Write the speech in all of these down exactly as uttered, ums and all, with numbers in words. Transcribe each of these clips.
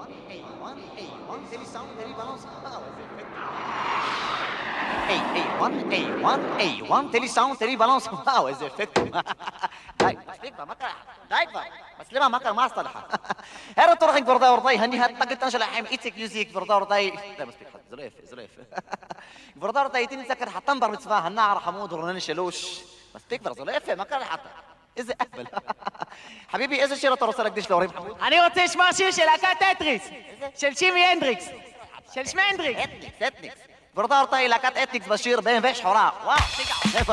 Hey, one, hey, one, télé sound, télé balance. Hey, hey, one, hey, one, hey, one, télé sound, télé balance. واو איזה אפקט. די, מספיק כבר, מה קרה? די כבר. مسلمة ما كان ما اصطلحها. هذا طرق بردا ورضاي هني هاد طقت انشل حيم ايتك يوزيك بردا ورضاي. لا مسبيك خد زليف زليف. بردا ورضاي تين ذكر حتنبر بتفاه النار حمود ورنن شلوش. مسبيك بردا زليف ما كان حتى. إذا أهبل. حبيبي إذا شيرة ترسلك ديش لوري محمود. אני רוצה לשמוע שיר של להקת טטריס. של שימי הנדריקס. של שמי הנדריקס. אתניקס, אתניקס. بردا ورضاي להקת אתניקס בשיר בן ויש חורה. וואו, תיגע.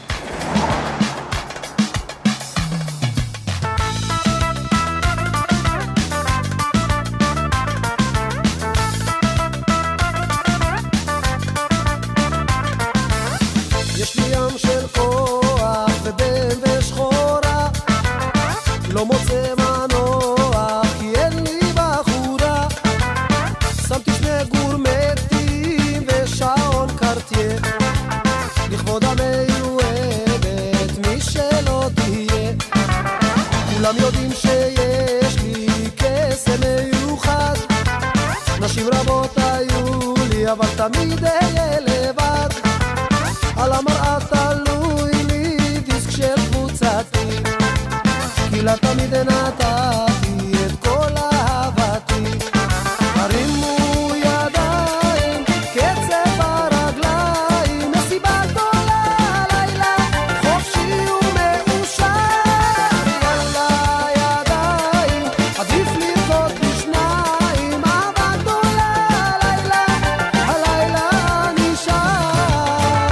יש לי ים של כוח ובן ושחורה לא מוצא מנוח כי אין לי בחורה שמתי שני גורמטים ושעון קרטייה לכבוד המיועדת מי שלא תהיה כולם יודעים שיש לי קסם מיוחד נשים רבות היו לי אבל תמיד אהיה לבד על המראה תלוי לי דיסק של קבוצתי כי לה תמיד נתתי את כל אהבתי הרימו ידיים קצב הרגליים מסיבה גדולה לילה חופשי ומאושר יאללה ידיים עדיף לרקוד בשניים אהבה גדולה לילה הלילה נשאר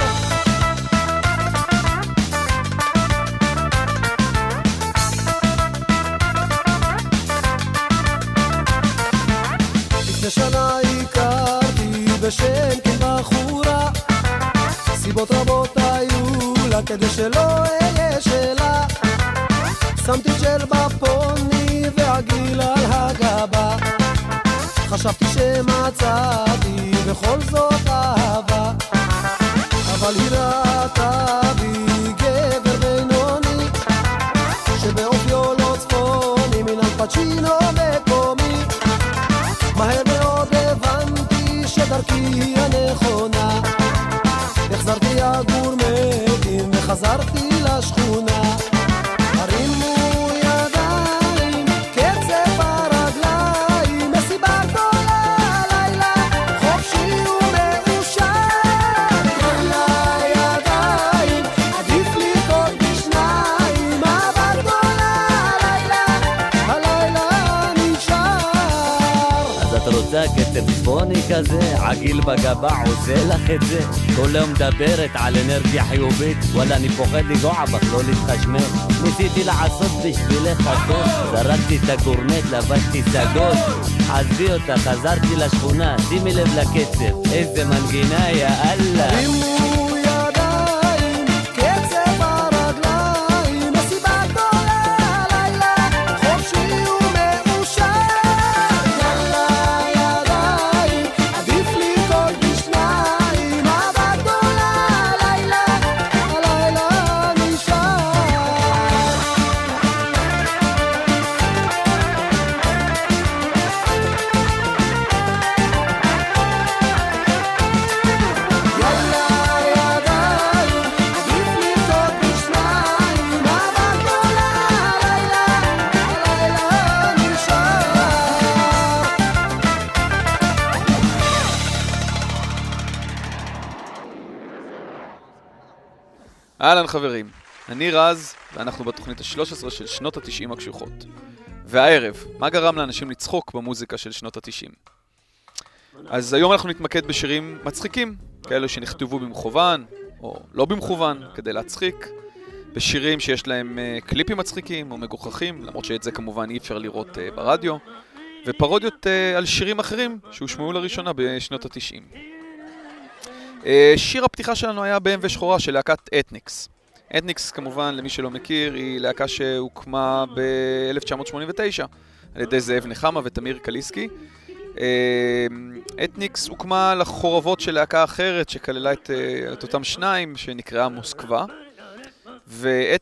לפני שנה הכרתי בשם כן בחורה סיבות רבות היו לה כדי שלא אהיה שלה שמתי ג'ל בפוני והגיל על הגבה חשבתי שמצאתי בכל זאת אהבה אבל היא ראתה בי גבר בינוני שבאופיו לא צפוני מן אלפצ'ינו מקומי מהר מאוד הבנתי שדרכי היא הנכונה החזרתי הגורמטים וחזרתי לשכונה הרימו ידיים קצב הרגליים מסיבה גדולה לילה חופשי ומאושר יאללה ידיים עדיף לרקוד בשניים אהבה גדולה לילה הלילה נשאר אז את רוצה קצב צפוני כזה, עגיל בגבה עושה לך את זה כל היום מדברת על אנרגיה חיובית וואלה אני פוחד לגוע בך לא להתחשמל ניסיתי לעשות בשבילך הכל זרקתי את הגורנט לבשתי סגול עזבי אותה חזרתי לשכונה שימי לב לקצב איזה מנגינה יא אללה הרימו ידיים קצב הרגליים מסיבה גדולה לילה חופשי ומאושר יאללה ידיים עדיף לרקוד בשניים אהבה גדולה לילה הלילה נשאר יאללה ידיים עדיף לרקוד בשניים אהבה גדולה לילה הלילה נשאר אהלן חברים, אני רז, ואנחנו בתוכנית ה-שלוש עשרה של שנות ה-תשעים הקשוחות. והערב, מה גרם לאנשים לצחוק במוזיקה של שנות ה-תשעים? אז היום אנחנו נתמקד בשירים מצחיקים, כאלו שנכתבו במכוון, או לא במכוון, כדי להצחיק, בשירים שיש להם uh, קליפים מצחיקים או מגוחכים, למרות שאת זה כמובן אי אפשר לראות uh, ברדיו, ופרודיות uh, על שירים אחרים שהושמעו לראשונה בשנות ה-תשעים. Uh, שיר הפתיחה שלנו היה בן ושחורה של להקת אתניקס. אתניקס כמובן, למי שלא מכיר, היא להקה שהוקמה ב-אלף תשע מאות שמונים ותשע על ידי זאב נחמה ותמיר קליסקי. אתניקס הוקמה לחורבות של להקה אחרת שכללה את, את אותם שניים שנקראה מוסקבה,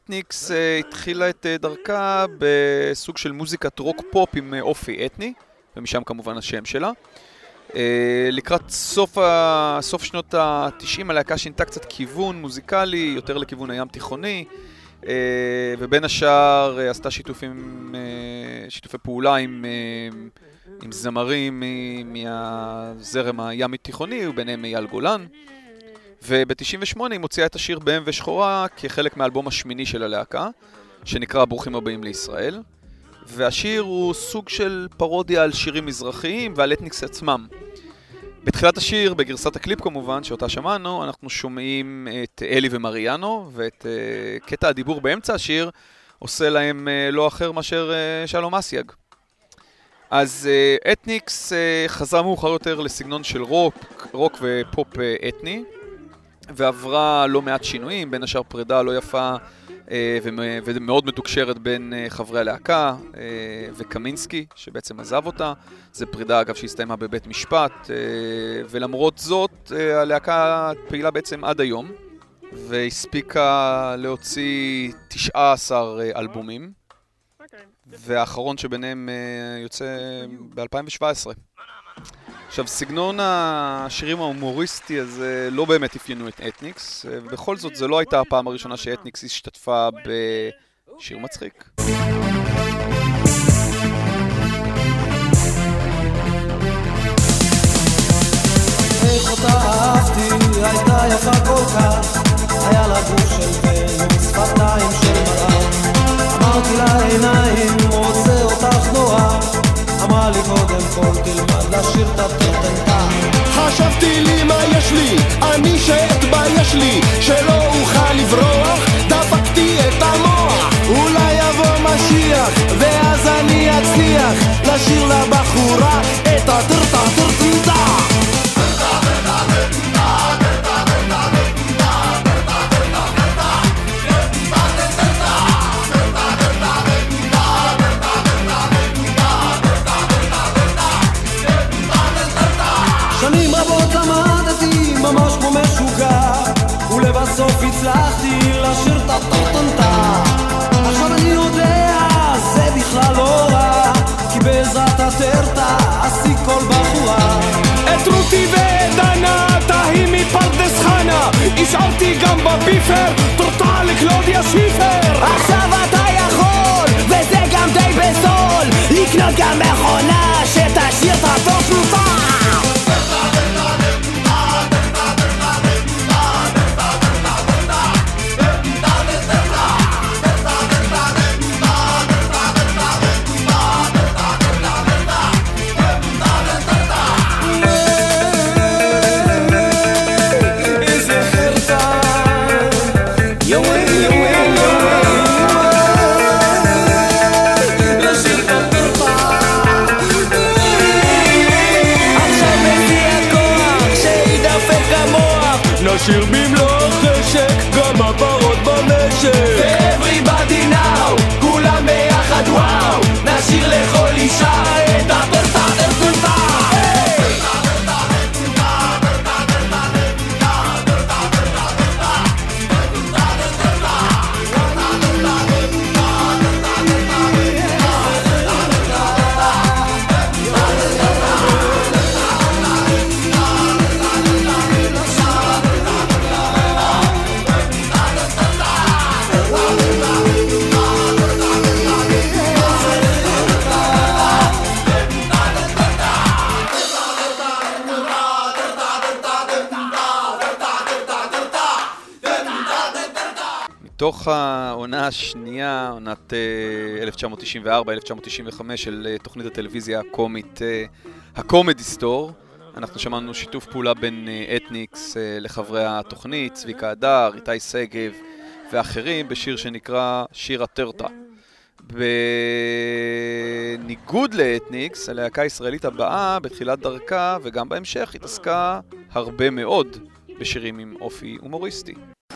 ואתניקס התחילה את דרכה בסוג של מוזיקת רוק פופ עם אופי אתני, ומשם כמובן השם שלה. לקראת סוף, ה... סוף שנות ה-תשעים הלהקה שינתה קצת כיוון מוזיקלי, יותר לכיוון הים תיכוני, ובין השאר עשתה שיתופים, שיתופי פעולה עם, עם זמרים מהזרם הימי תיכוני, וביניהם אייל גולן. וב-תשעים ושמונה היא מוציאה את השיר ב-אם ושחורה כחלק מהאלבום השמיני של הלהקה, שנקרא ברוכים הבאים לישראל. והשיר הוא סוג של פרודיה על שירים מזרחיים ועל אתניקס עצמם. בתחילת השיר, בגרסת הקליפ כמובן, שאותה שמענו, אנחנו שומעים את אלי ומריאנו, ואת uh, קטע הדיבור באמצע השיר עושה להם uh, לא אחר מאשר uh, שלום אסייג. אז uh, אתניקס uh, חזרה מאוחר יותר לסגנון של רוק, רוק ופופ uh, אתני, ועברה לא מעט שינויים, בין השאר פרידה לא יפה ומאוד מתוקשרת בין חברי הלהקה וקמינסקי שבעצם עזב אותה. זה פרידה אגב שהסתיימה בבית משפט, ולמרות זאת הלהקה פעילה בעצם עד היום והספיקה להוציא תשעה עשר אלבומים, והאחרון שביניהם יוצא ב-אלפיים שבע עשרה. עכשיו, סגנון השירים ההומוריסטי הזה לא באמת אפיינו את אתניקס, ובכל זאת זו לא הייתה הפעם הראשונה שאתניקס השתתפה בשיר מצחיק. איך אותה אהבתי, הייתה יפה כל כך, היה לה גוף של בן, שפתיים של מראה. אמרתי לה עיניים, רוצה אותך נורא, אמרה לי קודם כל תלמד לשיר את הטרטנטה. חשבתי לי מה יש לי, אני שאתבייש לי, שלא אוכל לברוח, דפקתי את המוח. אולי יבוא משיח, ואז אני אצליח לשיר לבחורה את הטרטה טרטנטה. שנים רבות למדתי ממש כמו משוגע, ולבסוף הצלחתי לשיר את הטרטנטה. עכשיו אני יודע, זה בכלל לא רע, כי בעזרת הטרטה עשי כל בחורה. את רותי ודנה, תהי מפרדס חנה, השארתי גם בביפר, טרטה לקלודיה שיפר. עכשיו אתה יכול, וזה גם די בזול, לקנות גם מכונה שתשאיר את הטרטנטה. נשיר במלוא חשק, גם הפרות במשק. ו-everybody now, כולם ביחד וואו, נשיר לכל אישה את הטרטה טרטנטה. מתוך העונה השנייה, עונת אלף תשע מאות תשעים וארבע אלף תשע מאות תשעים וחמש של תוכנית הטלוויזיה הקומית הקומדי סטור, אנחנו שמענו שיתוף פעולה בין אתניקס לחברי התוכנית, צביקה הדר, איתי סגב ואחרים, בשיר שנקרא שיר הטרטה. בניגוד לאתניקס, הלהקה הישראלית הבאה בתחילת דרכה וגם בהמשך התעסקה הרבה מאוד בשירים עם אופי הומוריסטי.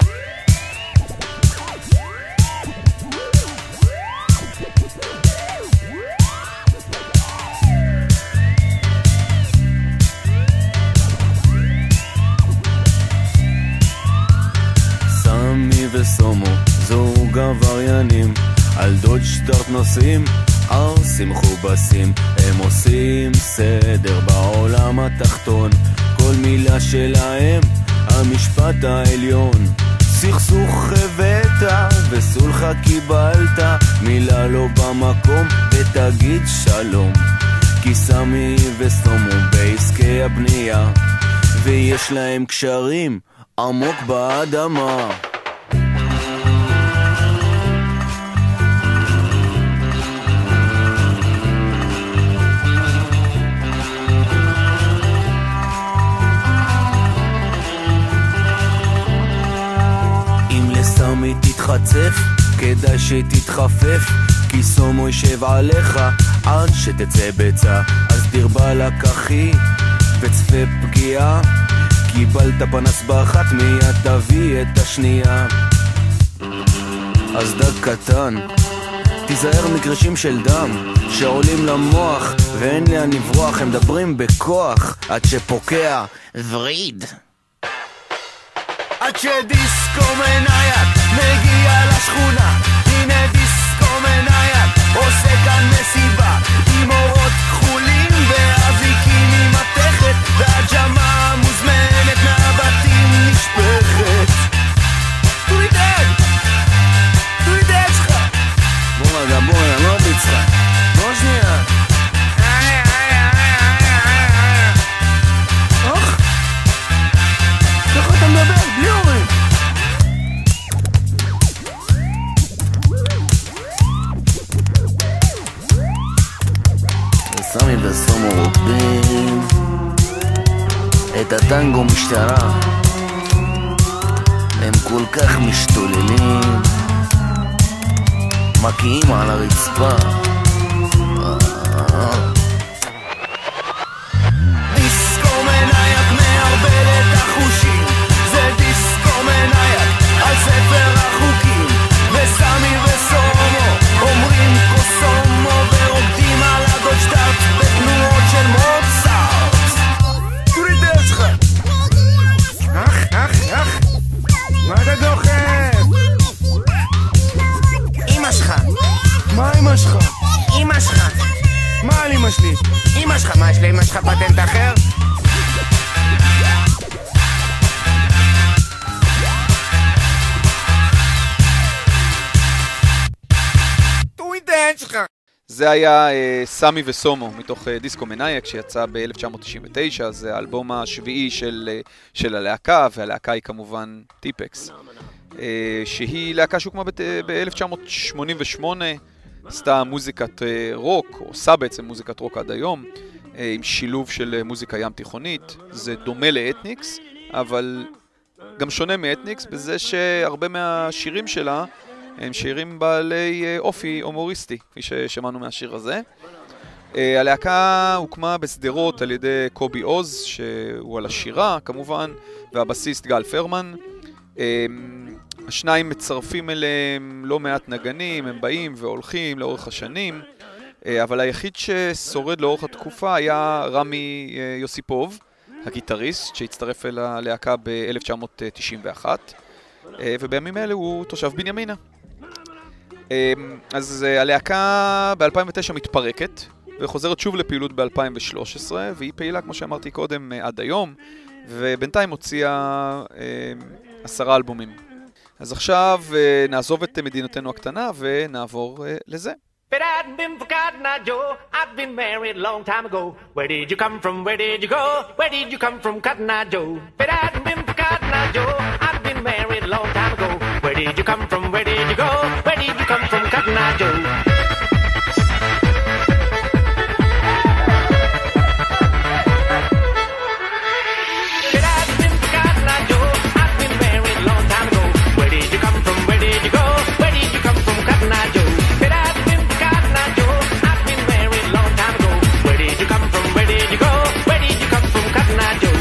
סמי וסומו, זוג עבריינים, על דוד שטרט נוסעים, ערסים חובסים, הם עושים התחתון, כל מילה שלהם המשפט העליון. סכסוך הבאת וסולחה קיבלת, מילה לא במקום ותגיד שלום. כי סמי וסומו בעסקי הבנייה, ויש להם קשרים עמוק באדמה. אם לסמי תתחצף, כדאי שתתחפף, כי סומו יישב עליך עד שתצא בצע. אז דיר בלק אחי וצפה פגיעה, קיבלת פנס באחת מיד תביא את השנייה. אז דג קטן, תיזהר מקרשים של דם שעולים למוח ואין לאן לברוח, הם מדברים בכוח עד שפוקע וריד. עד שדיסקו מנייק מגיע לשכונה, הנה דיסקו מנייק עושה כאן מסיבה, עם אורות כחולים ואביקים עם מתכת, והג'מה מוזמנת מהבתים נשפכת. תורי דג! תורי דג שלך! בוא רגע, בוא רגע, לא ביצחה, בוא שנייה. אוח! איך אתה מדבר? בלי אורים! סמי וסומו רובים את הטנגו משטרה, הם כל כך משתוללים, מקיאים על הרצפה. דיסקו מנייק מערבל את החושים, זה דיסקו מנייק על ספר החוקים, וסמי וסומו אומרים קוסומו ורוקדים על הגולדשטארט בתנועות של מוצרט. תורי דרך שלך. אח, אח, אח, מה אתה דוחף? אמא שלך. מה אמא שלך? אמא שלך. מה על אמא שלי? אמא שלך, מה יש לאמא שלך פטנט אחר? תורי דרך שלך. זה היה uh, סמי וסומו מתוך uh, דיסקו מנייק שיצא ב-אלף תשע מאות תשעים ותשע, זה האלבום השביעי של, uh, של הלהקה, והלהקה היא כמובן טיפקס, uh, שהיא להקה שהוקמה ב-אלף תשע מאות שמונים ושמונה, עשתה מוזיקת uh, רוק, או עושה בעצם מוזיקת רוק עד היום, uh, עם שילוב של uh, מוזיקה ים תיכונית. זה דומה לאתניקס, אבל גם שונה מאתניקס בזה שהרבה מהשירים שלה הם שירים בעלי אופי הומוריסטי, כפי ששמענו מהשיר הזה. הלהקה הוקמה בסדרות על ידי קובי עוז, שהוא על השירה כמובן, והבסיסט גל פרמן. השניים מצרפים אליהם לא מעט נגנים, הם באים והולכים לאורך השנים, אבל היחיד ששורד לאורך התקופה היה רמי יוסיפוב, הגיטריסט, שהצטרף אל הלהקה ב-אלף תשע מאות תשעים ואחת, ובימים אלה הוא תושב בנימינה. אז הלהקה ב-אלפיים ותשע מתפרקת וחוזרת שוב לפעילות ב-אלפיים ושלוש עשרה, והיא פעילה, כמו שאמרתי קודם, עד היום, ובינתיים הוציאה עשרה אלבומים. אז עכשיו נעזוב את מדינתנו הקטנה ונעבור לזה. But I hadn't been for Cotton Eye Joe, I'd been married a long time ago. Where did you come from, where did you go? Where did you come from, Cotton Eye Joe? But I hadn't been for Cotton Eye Joe, I'd been married a long time ago. Where did you come from, where did you go? Where did you come from, Cotton Eye Joe? But I hadn't been for Cotton Eye Joe, I'd been married a long time ago. Where did you come from, where did you go? Where did you come from, Cotton Eye Joe? But I hadn't been for Cotton Eye Joe, I'd been married a long time ago. Where did you come from, where did you go? Where did you come from, Cotton Eye Joe?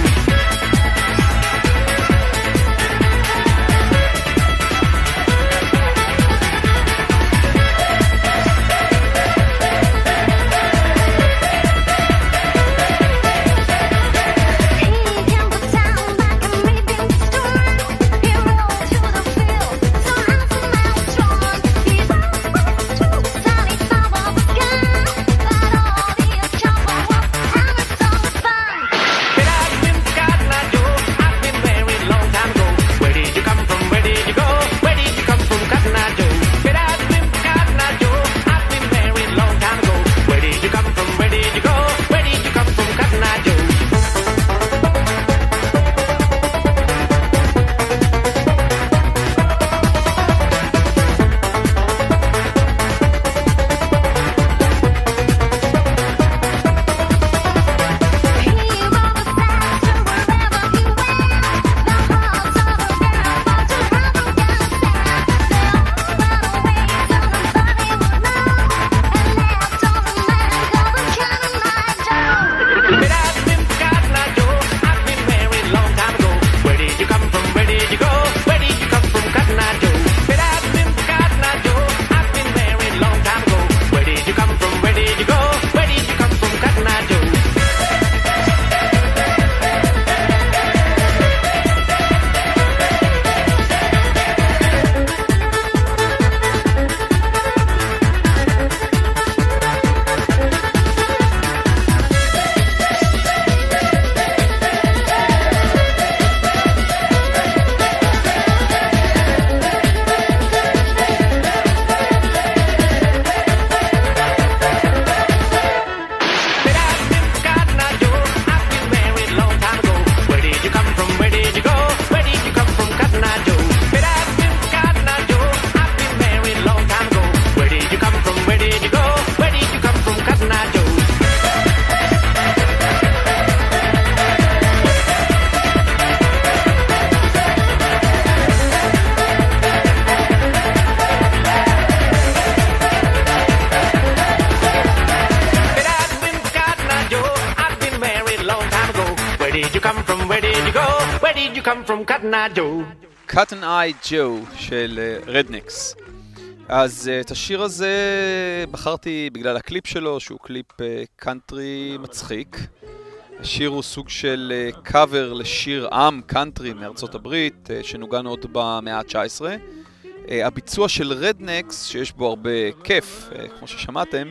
go? Where did you come from, Cotton Eye Joe? Cotton Eye Joe של רדניקס. אז את השיר הזה בחרתי בגלל הקליפ שלו, שהוא קליפ קאנטרי מצחיק. השיר הוא סוג של קאבר לשיר עם קאנטרי מארצות הברית, שנוגן עוד במאה ה-תשע עשרה. הביצוע של רדניקס, שיש בו הרבה כיף, כמו ששמעתם,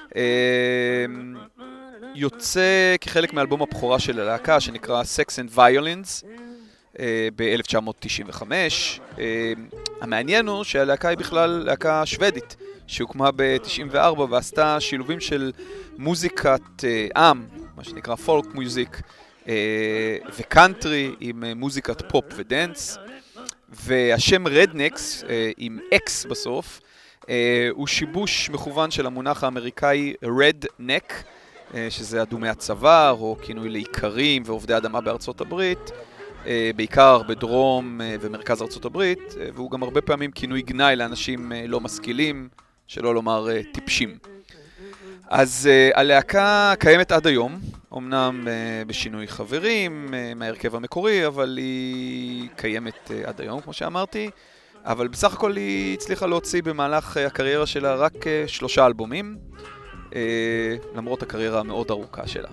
יוצא כחלק מאלבום הבכורה של הלהקה, שנקרא Sex and Violins, ב-אלף תשע מאות תשעים וחמש. המעניין הוא שהלהקה היא בכלל להקה שוודית, שהוקמה ב-תשעים וארבע ועשתה שילובים של מוזיקת עם, מה שנקרא פולק מוזיק, וקאנטרי עם מוזיקת פופ ודנס. והשם רדניקס, עם אקס בסוף, הוא שיבוש מכוון של המונח האמריקאי redneck, שזה אדומי הצוואר, או כינוי לאיכרים ועובדי אדמה בארצות הברית, בעיקר בדרום ומרכז ארצות הברית, והוא גם הרבה פעמים כינוי גנאי לאנשים לא משכילים, שלא לומר טיפשים. אז הלהקה קיימת עד היום, אמנם בשינוי חברים מהרכב המקורי, אבל היא קיימת עד היום, כמו שאמרתי, אבל בסך הכל היא הצליחה להוציא במהלך הקריירה שלה רק שלושה אלבומים, למרות הקריירה המאוד ארוכה שלה.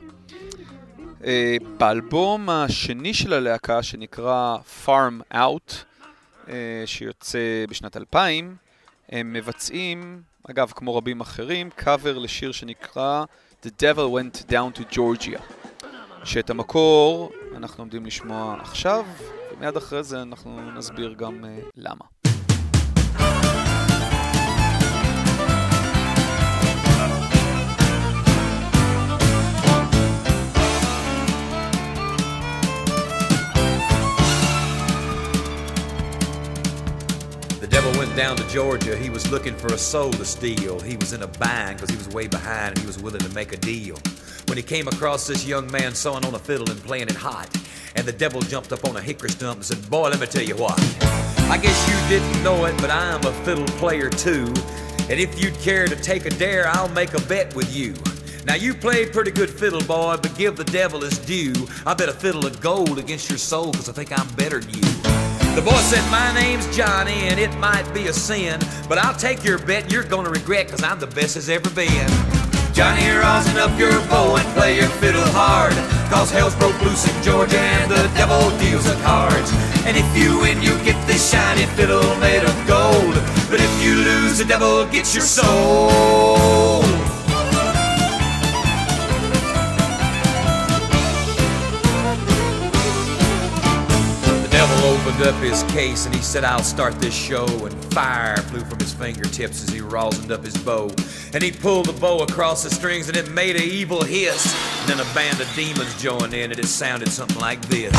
באלבום השני של הלהקה, שנקרא Farm Out, שיוצא בשנת אלפיים, הם מבצעים, אגב, כמו רבים אחרים, קאבר לשיר שנקרא The Devil Went Down to Georgia, שאת המקור אנחנו עומדים לשמוע עכשיו, ומיד אחרי זה אנחנו נסביר גם uh, למה. The devil went down to Georgia. He was looking for a soul to steal. He was in a bind because he was way behind and he was willing to make a deal. When he came across this young man sawing on a fiddle and playing it hot, and the devil jumped up on a hickory stump and said, "Boy, let me tell you what. I guess you didn't know it, but I'm a fiddle player too. And if you'd care to take a dare, I'll make a bet with you. Now you played pretty good fiddle, boy, but give the devil his due. I bet a fiddle of gold against your soul because I think I'm better than you." The boy said, "My name's Johnny, and it might be a sin, but I'll take your bet and you're gonna regret, cause I'm the best as ever been." Johnny, rosin up your bow and play your fiddle hard, cause hell's broke loose in Georgia and the devil deals the cards. And if you win, you get this shiny fiddle made of gold, but if you lose, the devil gets your soul. Opened up his case and he said, "I'll start this show," and fire flew from his fingertips as he rosined up his bow, and he pulled the bow across the strings and it made an evil hiss, and then a band of demons joined in and it sounded something like this.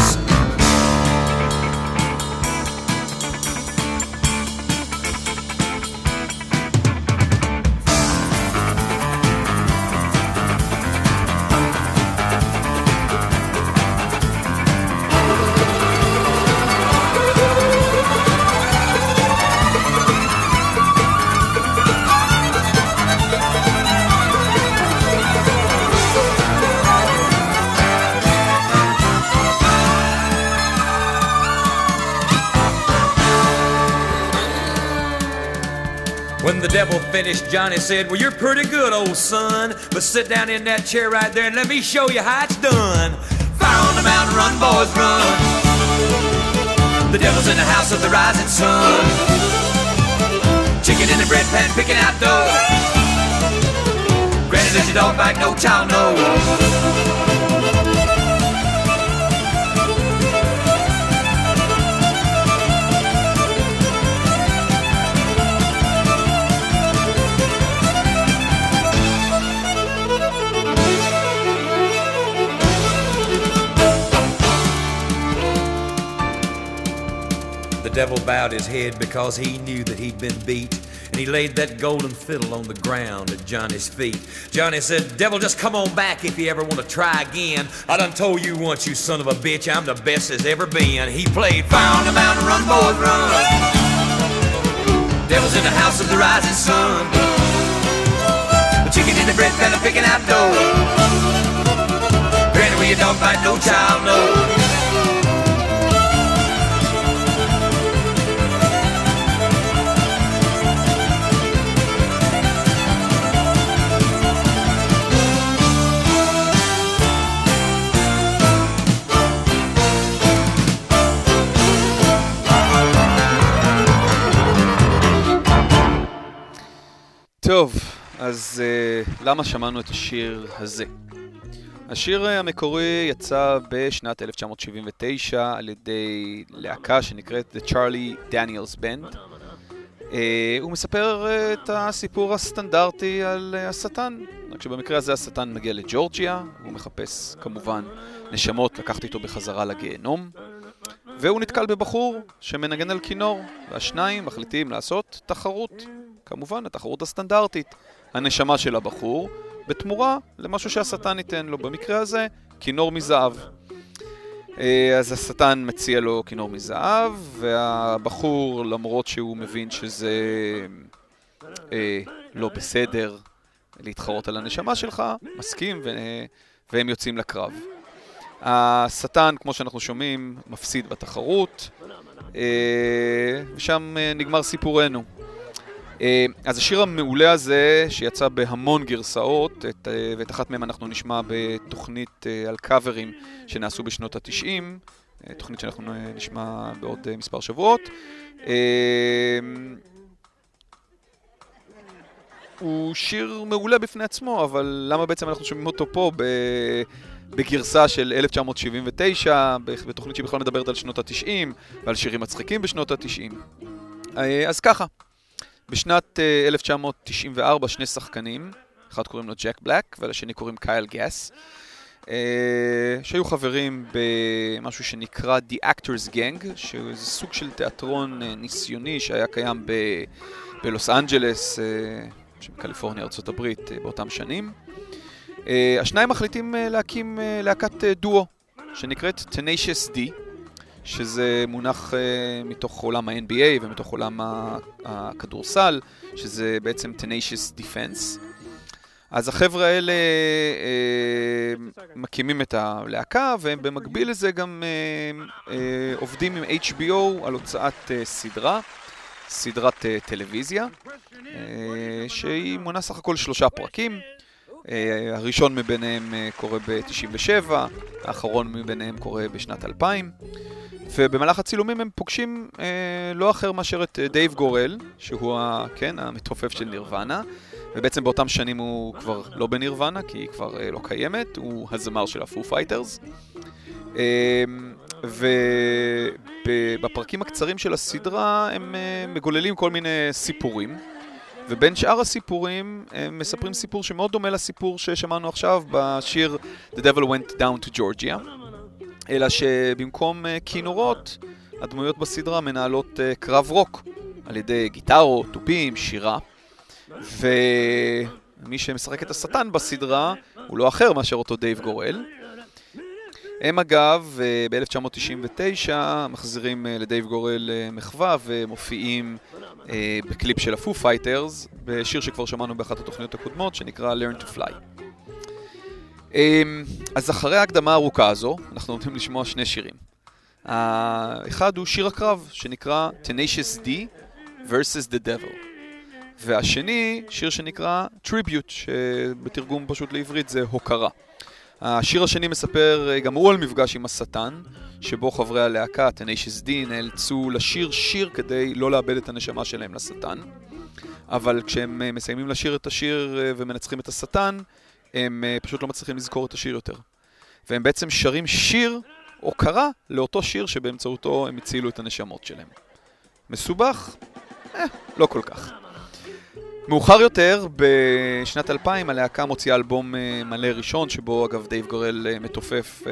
When the devil finished, Johnny said, "Well, you're pretty good, old son, but sit down in that chair right there and let me show you how it's done. Fire on the mountain, run, boys, run. The devil's in the house of the rising sun. Chicken in the bread pan, picking out dough. Granny, let your dog bite, no child, no." The devil bowed his head because he knew that he'd been beat, and he laid that golden fiddle on the ground at Johnny's feet. Johnny said, "Devil, just come on back if you ever want to try again. I done told you once, you son of a bitch, I'm the best there's ever been." He played "Fire on the Mountain, Run, Boys, Run." Devil's in the house of the rising sun. The chicken in the bread pan, picking out dough. Granny, where your dog bite, no child, no. אז uh, למה שמענו את השיר הזה? השיר המקורי יצא בשנת אלף תשע מאות שבעים ותשע על ידי להקה שנקראת The Charlie Daniels Band. Uh, הוא מספר uh, את הסיפור הסטנדרטי על uh, השטן, רק שבמקרה הזה השטן מגיע לג'ורג'יה, הוא מחפש כמובן נשמות לקחת איתו בחזרה לגיהנום, והוא נתקל בבחור שמנגן על כינור, והשניים מחליטים לעשות תחרות, כמובן התחרות הסטנדרטית, הנשמה של הבחור, בתמורה למשהו שהשטן ייתן לו, במקרה הזה כינור מזהב. אז השטן מציע לו כינור מזהב, והבחור, למרות שהוא מבין שזה אה, לא בסדר להתחרות על הנשמה שלך, מסכים ו... והם יוצאים לקרב. השטן, כמו שאנחנו שומעים, מפסיד בתחרות, אה, ושם אה, נגמר סיפורנו. אז השיר המעולה הזה, שיצא בהמון גרסאות, את, ואת אחת מהם אנחנו נשמע בתוכנית על קאברים שנעשו בשנות ה-תשעים, תוכנית שאנחנו נשמע בעוד מספר שבועות. הוא שיר מעולה בפני עצמו, אבל למה בעצם אנחנו שומעים אותו פה בגרסה של אלף תשע מאות שבעים ותשע, בתוכנית שבכלל מדברת על שנות ה-תשעים ועל שירים מצחיקים בשנות ה-תשעים? אז ככה. בשנת uh, אלף תשע מאות תשעים וארבע שני שחקנים, אחד קוראים לו ג'ק בלק ולשני קוראים קייל גאס, uh, שהיו חברים במשהו שנקרא The Actors Gang, שזה סוג של תיאטרון uh, ניסיוני שהיה קיים ב- בלוס אנג'לס, uh, שבקליפורניה, ארצות הברית, uh, באותם שנים. Uh, השניים מחליטים uh, להקים uh, להקת uh, דואו, שנקראת Tenacious D, שזה מונח uh, מתוך עולם ה-אן בי איי ומתוך עולם הכדורסל, שזה בעצם Tenacious Defense. אז החבר'ה האלה uh, מקימים את הלהקה, והם במקביל לזה גם uh, uh, עובדים עם אייץ' בי או על הוצאת uh, סדרה, סדרת uh, טלוויזיה, uh, שהיא מונה סך הכל שלושה פרקים. Uh, הראשון מביניהם uh, קורה ב-תשעים ושבע, האחרון מביניהם קורה בשנת אלפיים. ובמהלך הצילומים הם פוגשים אה, לא אחר מאשר את דייב גורל, שהוא ה, כן, המתופף של נירוונה, ובעצם באותם שנים הוא כבר לא בנירוונה, כי היא כבר אה, לא קיימת, הוא הזמר של הפו פייטרס. אה, ובפרקים הקצרים של הסדרה הם אה, מגוללים כל מיני סיפורים, ובין שאר הסיפורים הם מספרים סיפור שמאוד דומה לסיפור ששמענו עכשיו בשיר The Devil Went Down to Georgia, אלא שבמקום כינורות, הדמויות בסדרה מנהלות קרב רוק על ידי גיטרות, טובים, שירה. ומי שמשחק את השטן בסדרה הוא לא אחר מאשר אותו דייב גורל. הם אגב, ב-אלף תשע מאות תשעים ותשע מחזירים לדייב גורל מחווה ומופיעים בקליפ של הפו פייטרס, בשיר שכבר שמענו באחת התוכניות הקודמות שנקרא Learn to Fly. אז אחרי ההקדמה הארוכה הזו, אנחנו נותנים לשמוע שני שירים. האחד הוא שיר הקרב, שנקרא Tenacious D versus the Devil. והשני, שיר שנקרא Tribute, שבתרגום פשוט לעברית זה הוקרה. השיר השני מספר גם הוא על מפגש עם השטן, שבו חברי הלהקה, Tenacious D, נאלצו לשיר שיר כדי לא לאבד את הנשמה שלהם לשטן. אבל כשהם מסיימים לשיר את השיר ומנצחים את השטן, הם פשוט לא מצליחים לזכור את השיר יותר. והם בעצם שרים שיר הוקרה לאותו שיר שבאמצעותו הם הצילו את הנשמות שלהם. מסובך? אה, לא כל כך. מאוחר יותר, בשנת אלפיים, הלהקה מוציאה אלבום מלא ראשון, שבו אגב דייב גורל מתופף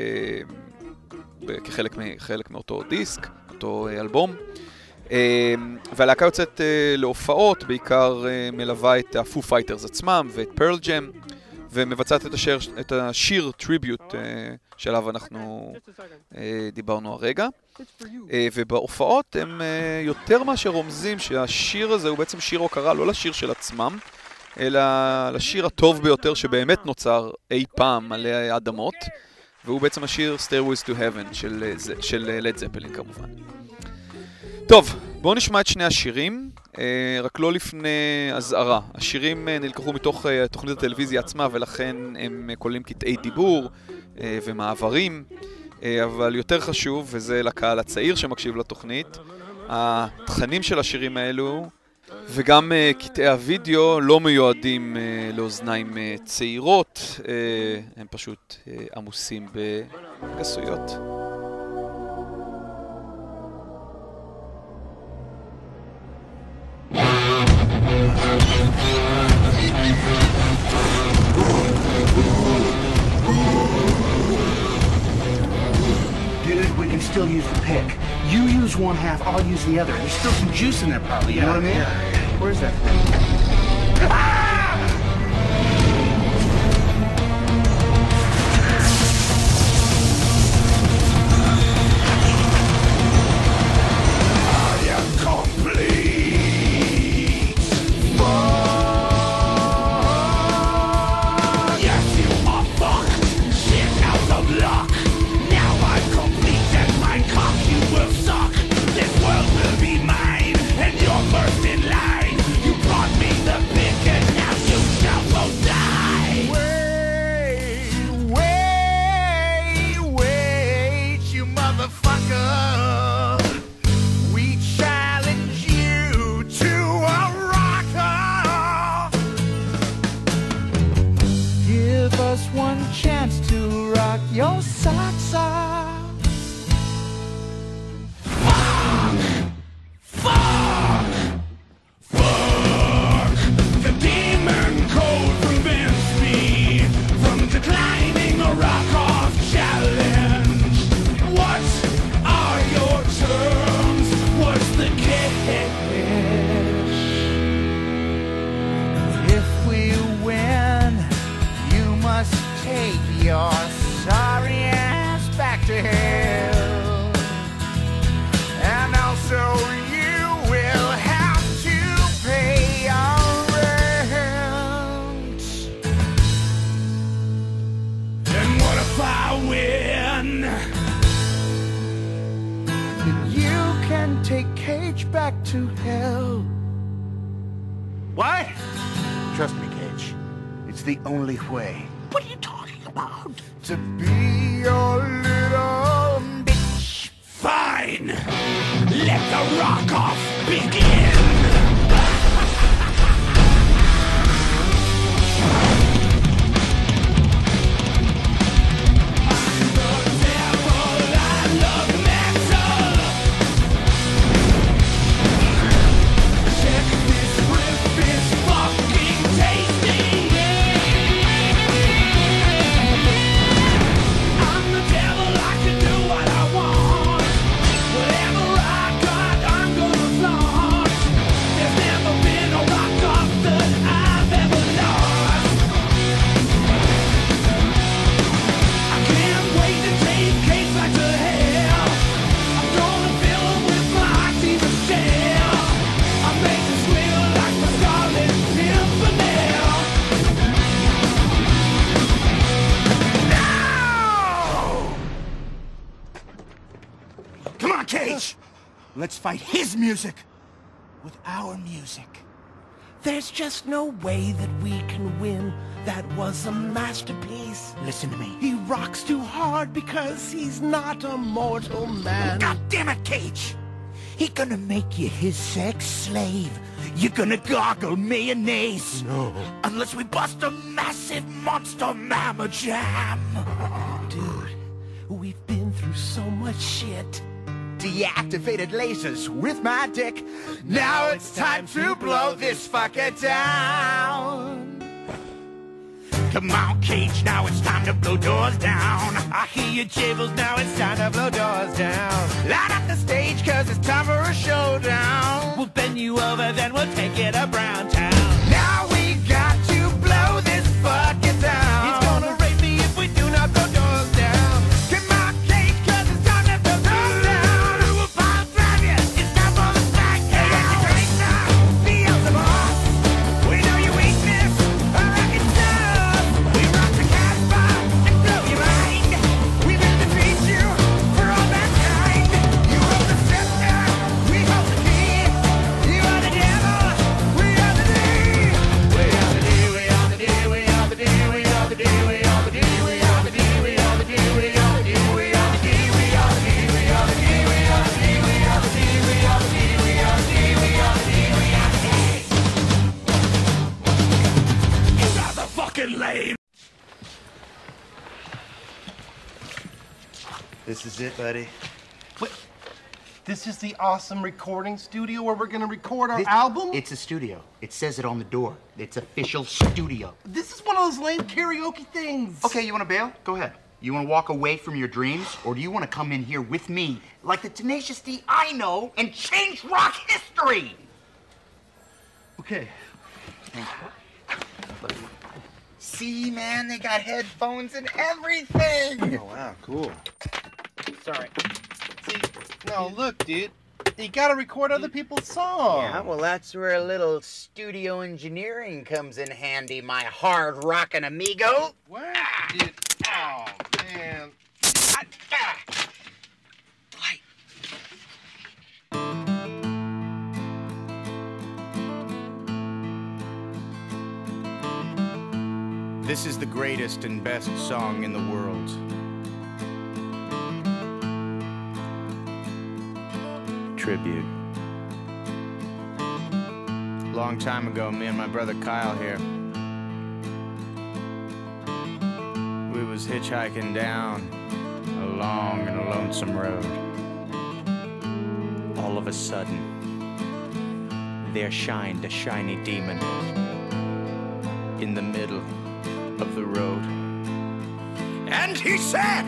אה, כחלק חלק מאותו דיסק, אותו אלבום. אה, והלהקה יוצאת אה, להופעות, בעיקר אה, מלווה את הפו פייטרס עצמם ואת פרל ג'ם, ומבצעת את השיר, את השיר טריביוט uh, שעליו אנחנו uh, דיברנו הרגע. Uh, ובהופעות הם uh, יותר מאשר רומזים שהשיר הזה הוא בעצם שיר הוקרה לא לשיר של עצמם, אלא לשיר הטוב ביותר שבאמת נוצר אי פעם על האדמות, והוא בעצם השיר Stairways to Heaven של, של לד זפלין כמובן. טוב, בואו נשמע את שני השירים, רק לא לפני הזערה. השירים נלקחו מתוך תוכנית הטלוויזיה עצמה, ולכן הם כוללים קטעי דיבור ומעברים, אבל יותר חשוב, וזה לקהל הצעיר שמקשיב לתוכנית, התכנים של השירים האלו וגם uh, קטעי הוידאו לא מיועדים uh, לאוזניים uh, צעירות, uh, הם פשוט uh, עמוסים בגסויות. Dude, we can still use the pick. You use one half, I'll use the other. There's still some juice in there probably, you know what I mean? Where's that thing? Let's fight his music with our music. There's just no way that we can win. That was a masterpiece. Listen to me. He rocks too hard because he's not a mortal man. God damn it, Cage! He gonna make you his sex slave. You're gonna gargle mayonnaise. No. Unless we bust a massive monster mamma jam. Dude, we've been through so much shit. Deactivated lasers with my dick. Now it's time to blow this fucker down. Come on, Cage, now it's time to blow doors down. I hear your jibbles, now it's time to blow doors down. Light up the stage, cause it's time for a showdown. We'll bend you over, then we'll take it to Brown Town. Now we got to blow this fucker down. He's gonna rape me if we do not blow doors down. Come on, Cage, cause it's time to blow doors down. We'll bomb drive you, it's time for the smackdown. Hey, it's great now, feel the boss. We know your weakness, I like it tough. We rock the Casbah and blow your mind. We will defeat you for all mankind. You hold the scepter, we hold the key. You are the devil, we are the This is it, buddy. Wait, this is the awesome recording studio where we're gonna record our This- album? It's a studio. It says it on the door. It's official studio. This is one of those lame karaoke things. Okay, you want to bail? Go ahead. You want to walk away from your dreams, or do you want to come in here with me, like the Tenacious D I know, and change rock history? Okay. See, man, they got headphones and everything. Oh, wow, cool. Sorry. See, no, look, dude. You gotta record other people's songs. Yeah, well, that's where a little studio engineering comes in handy, my hard rockin' amigo. What? Dude, oh, man. Ah, ah. This is the greatest and best song in the world. Tribute. Long time ago, me and my brother Kyle here, we was hitchhiking down a long and lonesome road. All of a sudden, there shined a shiny demon in the middle of the road. And he said,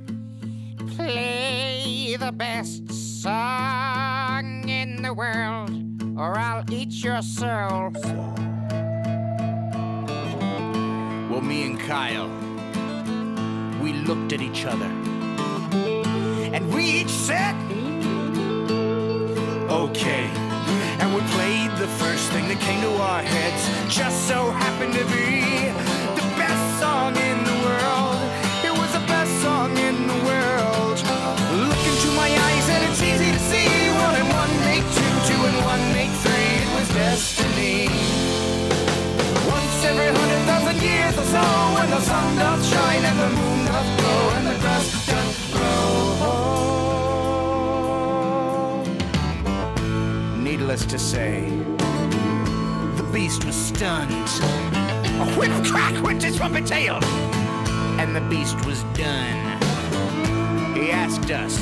Play the best song in the world, or I'll eat your soul. well, me and Kyle, we looked at each other, and we each said, okay. And we played the first thing that came to our heads, just so happened to be the best song in the world. It was the best song in the world. Look into my eyes and it's easy to see. One and one make two, two and one make three. It was destiny. Once every hundred thousand years or so, when the sun doth shine and the moon doth glow and the grass doth grow. Needless to say, the beast was stunned. A whip crack went his trumpet tail, and the beast was done. He asked us,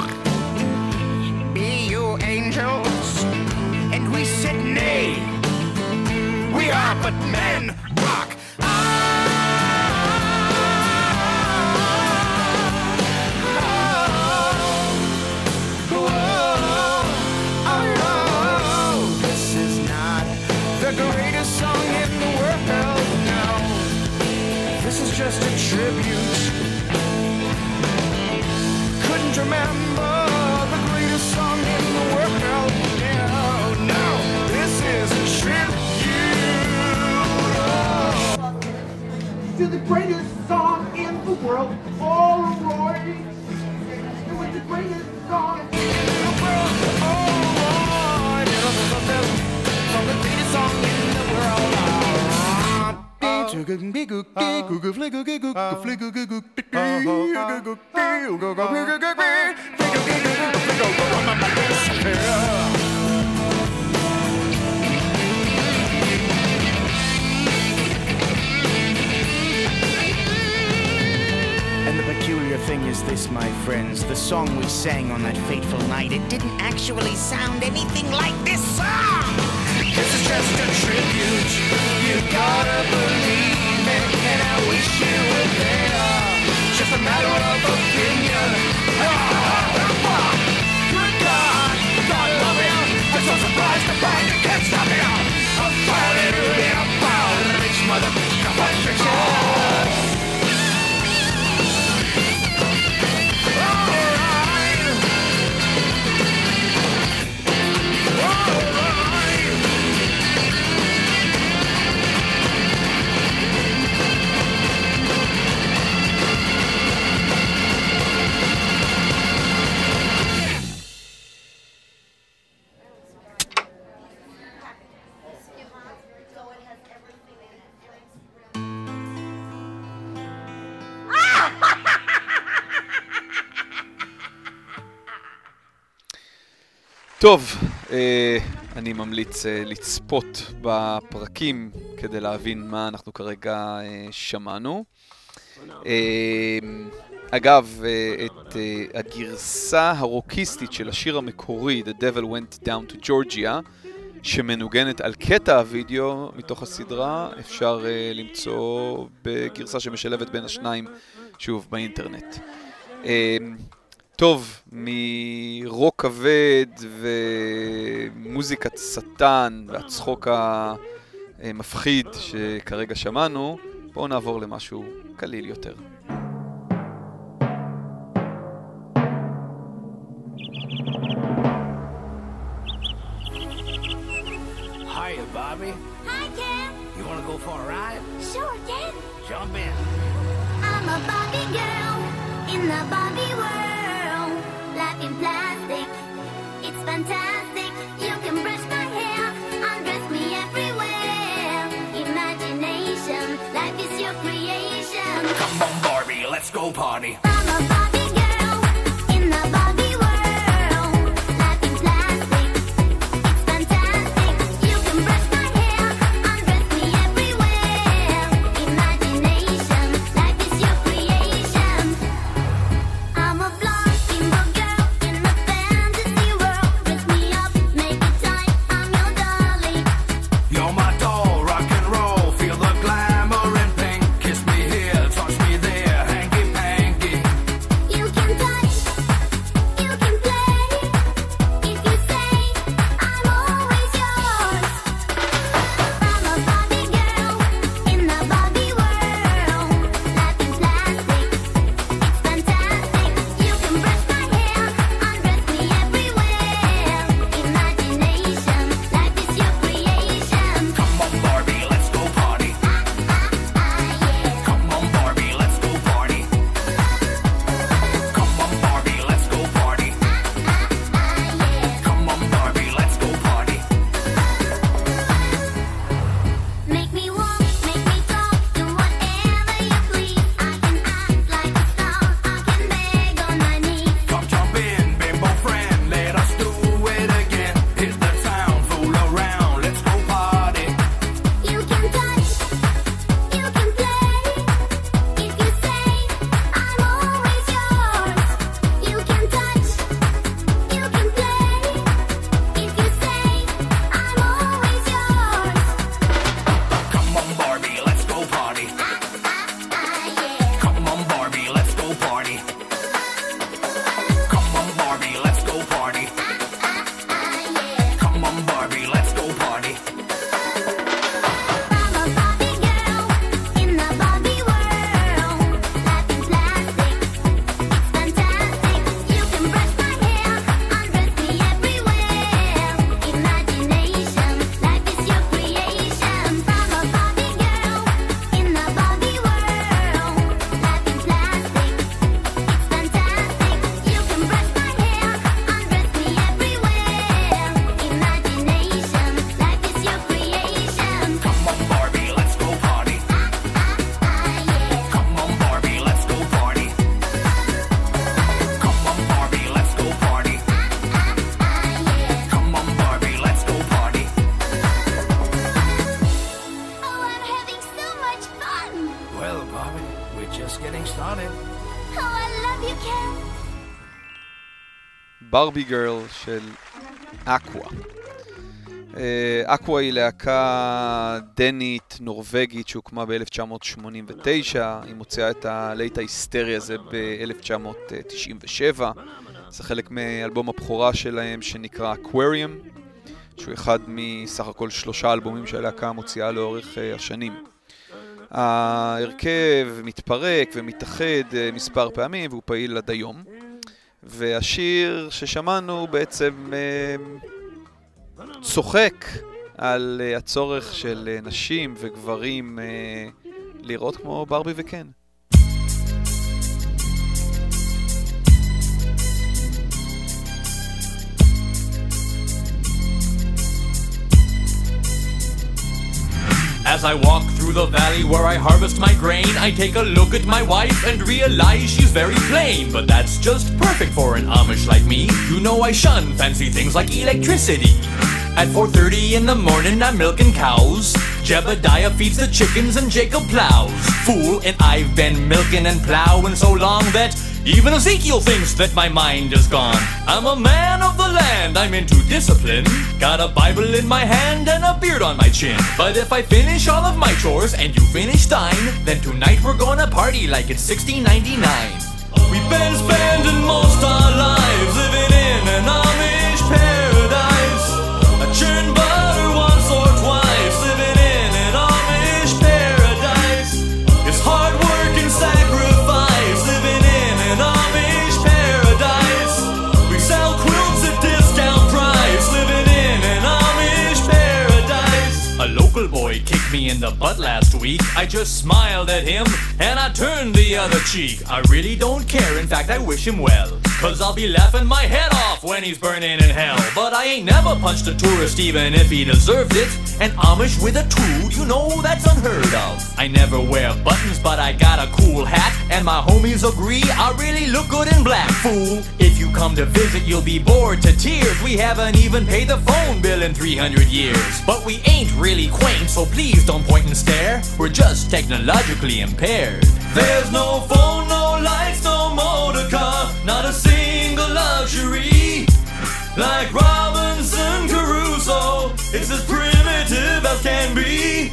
be you angels? And we said nay. We are but men, rock. Just a tribute. Couldn't remember the greatest song in the world. No, no, this is a tribute To the greatest song in the world, all right. It was the greatest song in the world, all right. It was the greatest song in the world, all right. And the peculiar thing is this, my friends, the song we sang on that fateful night, it didn't actually sound anything like this song. This is just a tribute. You gotta believe it, and I wish you were there. Just a matter of opinion. Good God, God love him. I'm so surprised to find you can't stop him. I'm falling really about rich motherfucker patrician. טוב, אה, אני ממליץ אה, לצפות בפרקים כדי להבין מה אנחנו כרגע אה, שמענו. אה, אגב, אה, את אה, הגרסה הרוקיסטית של השיר המקורי, The Devil Went Down to Georgia, שמנוגנת על קטע הוידאו מתוך הסדרה, אפשר אה, למצוא בגרסה שמשלבת בין השניים, שוב, באינטרנט. אה, טוב, מרוק כבד ומוזיקת שטן והצחוק המפחיד שכרגע שמענו, בואו נעבור למשהו קליל יותר. Hiya, Bobby. Hi, Ken. You want to go for a ride? Sure, Ken. Jump in. I'm a Barbie girl in the Barbie world. Life in plastic, it's fantastic. You can brush my hair, undress me everywhere. Imagination, life is your creation. Come on, Barbie, let's go party. I'm a Barbie girl in the Barbie world. Life in plastic, it's fantastic. You can brush my hair, undress me everywhere. Imagination, life is your creation. I'm a blonde single girl in a fantasy world. Dress me up, make it tight, I'm your dolly. You're my doll, rock and roll. Feel the glamour and pink. Kiss me here, touch me there, hanky panky. You can touch, you can play. If you say I'm always yours. I'm a Barbie girl in the Barbie world. Life in plastic, it's fantastic. You can brush my hair, undress me everywhere. Imagination, life is your creation. Come on, Barbie, let's go party. Come on, Barbie, let's go party. Come on, Barbie, let's go party. Come on, Barbie, let's go party. Make me walk, make me talk, do whatever you please. I can act like a star, I can beg on my knees. Come jump in, bimbo friend, let us do it again. Hit the town, fool around, let's go party. You can touch, you can play. If you say I'm always yours. You can touch, you can play. If you say I'm always yours. Come on, Barbie, let's go party. Come on, Barbie, let's go party. Come on, Barbie, let's go party. Come on, Barbie, let's go party. I'm a Barbie girl in the Barbie world. Life in plastic, it's fantastic. You can brush my hair, undress me everywhere. Imagination, life is your creation. I'm a Barbie girl in the Barbie world. Life in plastic, it's fantastic. You can brush my hair, undress me everywhere. Imagination, life is your creation. Come on, Barbie, let's go party. Come on, Barbie, let's go party. Come on, Barbie, let's go party. Come on, Barbie, let's go party. Oh, I'm having so much fun. Well, Barbie, we're just getting started. Oh, I love you, Ken. ברבי גרל של אקווה. אקווה היא להקה דנית נורווגית שהוקמה ב-אלף תשע מאות שמונים ותשע, היא מוציאה את הלהיט ההיסטרי הזה ב-אלף תשע מאות תשעים ושבע, זה חלק מאלבום הבכורה שלהם שנקרא Aquarium, שהוא אחד מסך הכל שלושה אלבומים שהלהקה מוציאה לאורך אה, השנים. ההרכב מתפרק ומתאחד אה, מספר פעמים והוא פעיל עד היום, והשיר ששמענו בעצם אה, צוחק על אה, הצורך של אה, נשים וגברים אה, לראות כמו ברבי וקן. As I walk through the valley where I harvest my grain, I take a look at my wife and realize she's very plain. But that's just perfect for an Amish like me. You know I shun fancy things like electricity. At four thirty in the morning I'm milking cows. Jebediah feeds the chickens and Jacob plows. Fool, and I've been milking and plowing so long that even Ezekiel thinks that my mind is gone. I'm a man of the land, I'm into discipline. Got a Bible in my hand and a beard on my chin. But if I finish all of my chores and you finish thine, then tonight we're gonna party like it's sixteen ninety-nine. We've been spending most our lives living in an Amish paradise. I churn butter once or twice, living in an Amish paradise. It's hard work and sacrifice, living in an Amish paradise. We sell quilts at discount price, living in an Amish paradise. A local boy kicked me in the butt last week. I just smiled at him and I turned the other cheek. I really don't care, in fact I wish him well, cause I'll be laughing my head off when he's burning in hell. But I ain't never punched a tourist even if he deserved it. An Amish with a tool, you know that's unheard of. I never wear buttons but I got a cool hat, and my homies agree I really look good in black. Fool, if you come to visit you'll be bored to tears. We haven't even paid the phone bill in three hundred years. But we ain't really quaint, so please don't point and stare. We're just technologically impaired. There's no phone, no lights, no motor car, not a single luxury. Like Robinson Crusoe, it's as primitive as can be.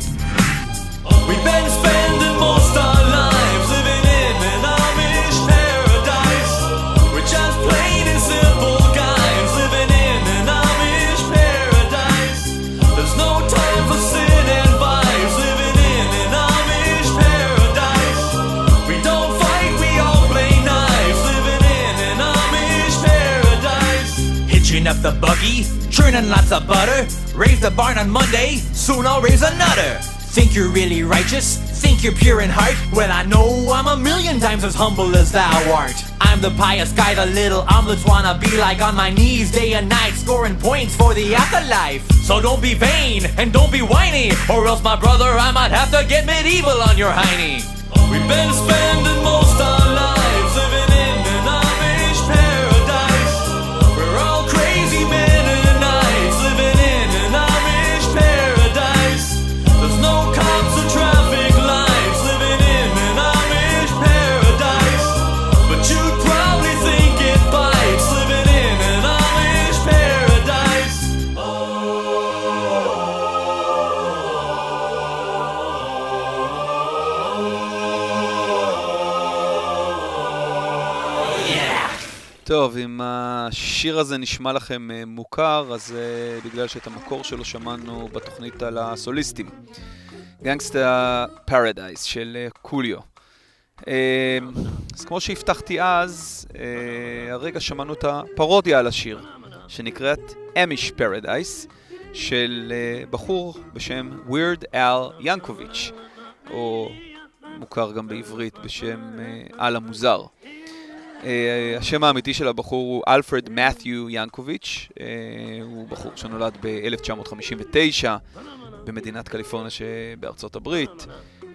We've been spending most our lives living in an Amish paradise. We're just plain and simple guys living in an Amish paradise. There's no time for sin and vice, living in an Amish paradise. We don't fight, we all play nice, living in an Amish paradise. Hitching up the buggy, churning lots of butter. Raise the barn on Monday, soon I'll raise another. Think you're really righteous? Think you're pure in heart? Well, I know I'm a million times as humble as thou art. I'm the pious guy the little omelets wanna be like, on my knees day and night, scoring points for the afterlife. So don't be vain and don't be whiny, or else, my brother, I might have to get medieval on your hiney. We've been spending most our lives living in an Amish paradise. We're all crazy men and knights living in an Amish paradise. There's no cops or traffic lights, living in an Amish paradise. But you'd probably think it bites, living in an Amish paradise. טוב, אם השיר הזה נשמע לכם מוכר, אז uh, בגלל שאת המקור שלו שמענו בתוכנית על הסוליסטים. גנגסטה פרדייס של uh, קוליו. Uh, אז כמו שהבטחתי אז, uh, הרגע שמענו את הפרודיה על השיר, שנקראת אמיש פרדייס, של uh, בחור בשם ווירד אל ינקוביץ', או מוכר גם בעברית בשם uh, אל המוזר. Uh, השם האמיתי של הבחור הוא אלפרד מת'יו ינקוביץ'. uh, הוא בחור שנולד ב-אלף תשע מאות חמישים ותשע במדינת קליפורניה שבארצות הברית, uh,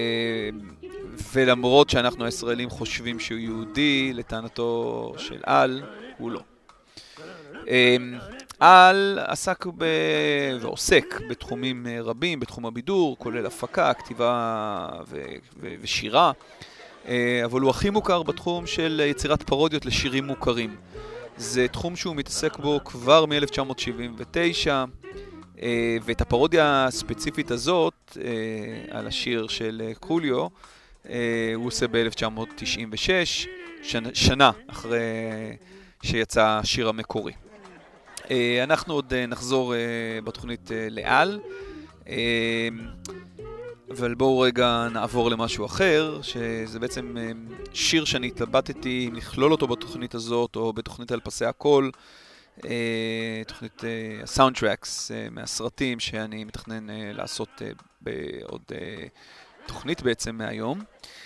ולמרות שאנחנו הישראלים חושבים שהוא יהודי, לטענתו של אל, הוא לא. uh, אל עסק ב... ועוסק בתחומים רבים, בתחום הבידור, כולל הפקה, כתיבה ו... ו... ושירה, אבל הוא הכי מוכר בתחום של יצירת פרודיות לשירים מוכרים. זה תחום שהוא מתעסק בו כבר מ-אלף תשע מאות שבעים ותשע, ואת הפרודיה הספציפית הזאת על השיר של קוליו הוא עושה ב-אלף תשע מאות תשעים ושש, שנה אחרי שיצא השיר המקורי. אנחנו עוד נחזור בתוכנית לאל, אבל בואו רגע נעבור למשהו אחר, שזה בעצם שיר שאני התלבטתי אם לכלול אותו בתוכנית הזאת או בתוכנית על פסי הכל, תוכנית הסאונדטרקס מהסרטים שאני מתכנן לעשות בעוד תוכנית בעצם מהיום.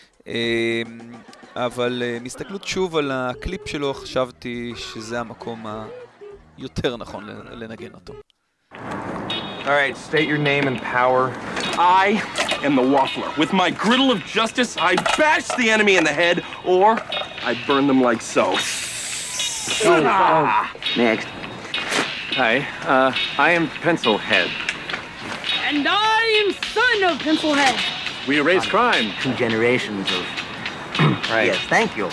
אבל מסתכלות שוב על הקליפ שלו, חשבתי שזה המקום היותר נכון לנגן אותו. All right, state your name and power. I am the Waffler. With my griddle of justice, I bash the enemy in the head, or I burn them like so. Oh, oh. Next. Hi, uh, I am Pencilhead. And I'm son of Pencilhead. We erase crime. Two generations of... right. Yes, thank you.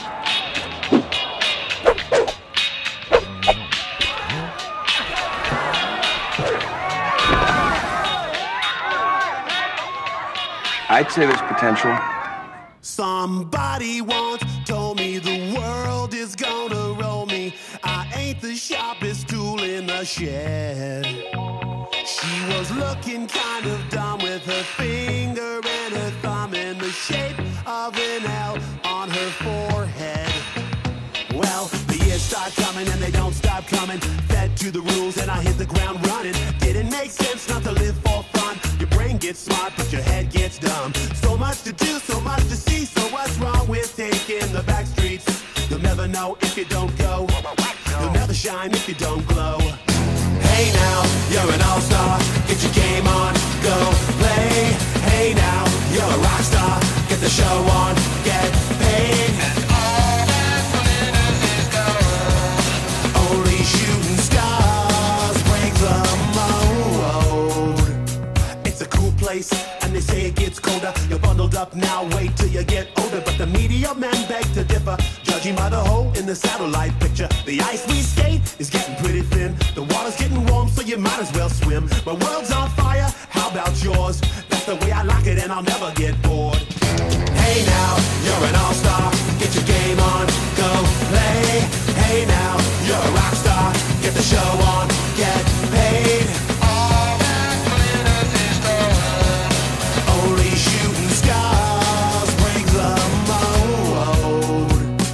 I'd say there's potential. Somebody once told me the world is gonna roll me. I ain't the sharpest tool in the shed. She was looking kind of dumb with her finger and her thumb in the shape of an L on her forehead. Well, the years start coming and they don't stop coming. Fed to the rules and I hit the ground running. Didn't make sense not to live for fun. Your brain gets smart but your head gets dumb. So much to do, so much to see. So what's wrong with taking the back streets? You'll never know if you don't go. You'll never shine if you don't glow. Hey now, you're an all-star. Get your game on, go play. Hey now, you're a rock star. Get the show on, get paid. And all that glitters is gold. Only shooting stars break the mold. It's a cool place, and they say it gets colder. You're bundled up now, wait till you get older. But the media men beg to differ, judging by the hole in the satellite picture. The ice we skate is getting pretty thin. The water's getting warm, so you might as well swim. My world's on fire, how about yours? That's the way I like it, and I'll never get bored. Hey now, you're an all-star. Get your game on, go play. Hey now, you're a rock star. Get the show on, get paid. All that glitters is gold. Only shooting stars break the mold.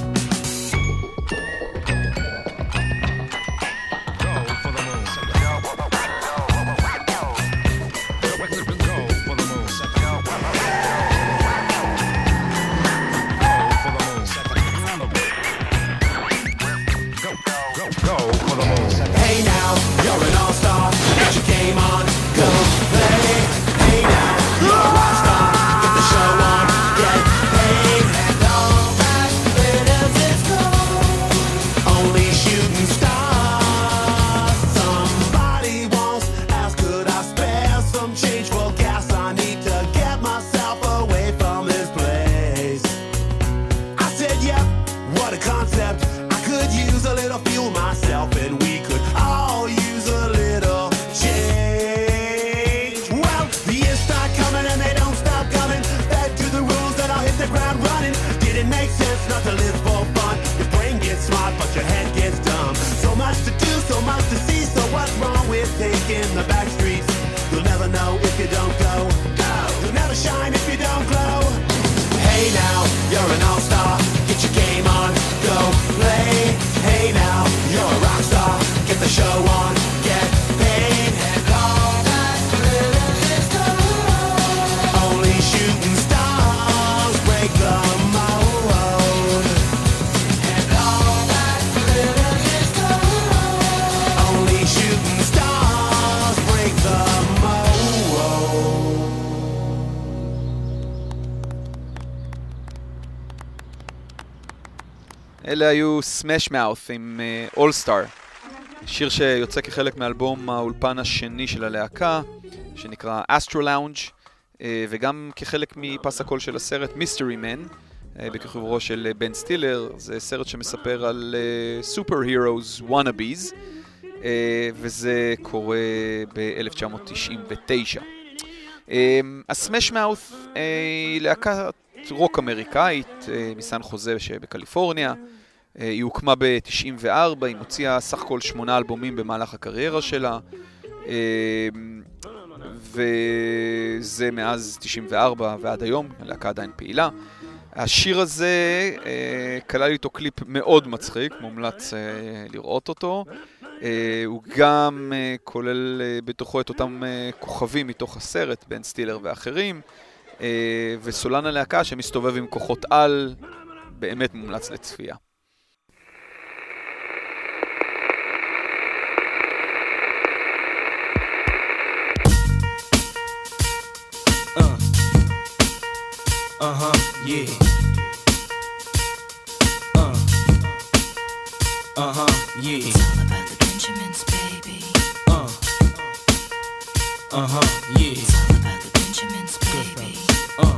Hey now, you're an all-star. Get your game on, go play. Hey now, you're a rock star. Get the show on, get paid. And all that glitters is gold. Only shooting stars. Somebody once asked, could I spare some change for gas? I need to get myself away from this place. I said, yep, what a concept. I could use a little fuel myself, and we could all use a little change. Well, the years start coming and they don't stop coming. Fed to the rules that I'll hit the ground running. Didn't make sense not to live for fun. Your brain gets smart but your head gets dumb. So much to do, so much to see. So what's wrong with taking the back streets? You'll never know if you don't go. Go. You'll never shine if you don't glow. Hey now, you're an all-star. Get your game on, go play. Hey now, you're a rock star. Get the show on, get paid. And all that glitters is gold. Only shooting stars break the mold. And all that glitters is gold. Only shooting stars break the mold. אלה היו סמש מאות' עם All Star, שיר שיוצא כחלק מאלבום האולפן השני של הלהקה, שנקרא Astro Lounge, וגם כחלק מפס הקול של הסרט Mystery Man, בכיכובו של בן סטילר. זה סרט שמספר על סופר הירוס וואנאביז, וזה קורה ב-אלף תשע מאות תשעים ותשע. הסמש מאות' היא להקת רוק אמריקאית מסן חוזה שבקליפורניה. היא הוקמה ב-תשעים וארבע, היא מוציאה סך הכל שמונה אלבומים במהלך הקריירה שלה, וזה מאז תשעים וארבע ועד היום, הלהקה עדיין פעילה. השיר הזה כלל איתו קליפ מאוד מצחיק, מומלץ לראות אותו. הוא גם כולל בתוכו את אותם כוכבים מתוך הסרט, בן סטילר ואחרים, וסולן הלהקה שמסתובב עם כוחות על, באמת מומלץ לצפייה. Uh-huh, yeah. Uh. Uh-huh, yeah. It's all about the Benjamins, baby. Uh. Uh-huh, yeah. It's all about the Benjamins, baby. Uh.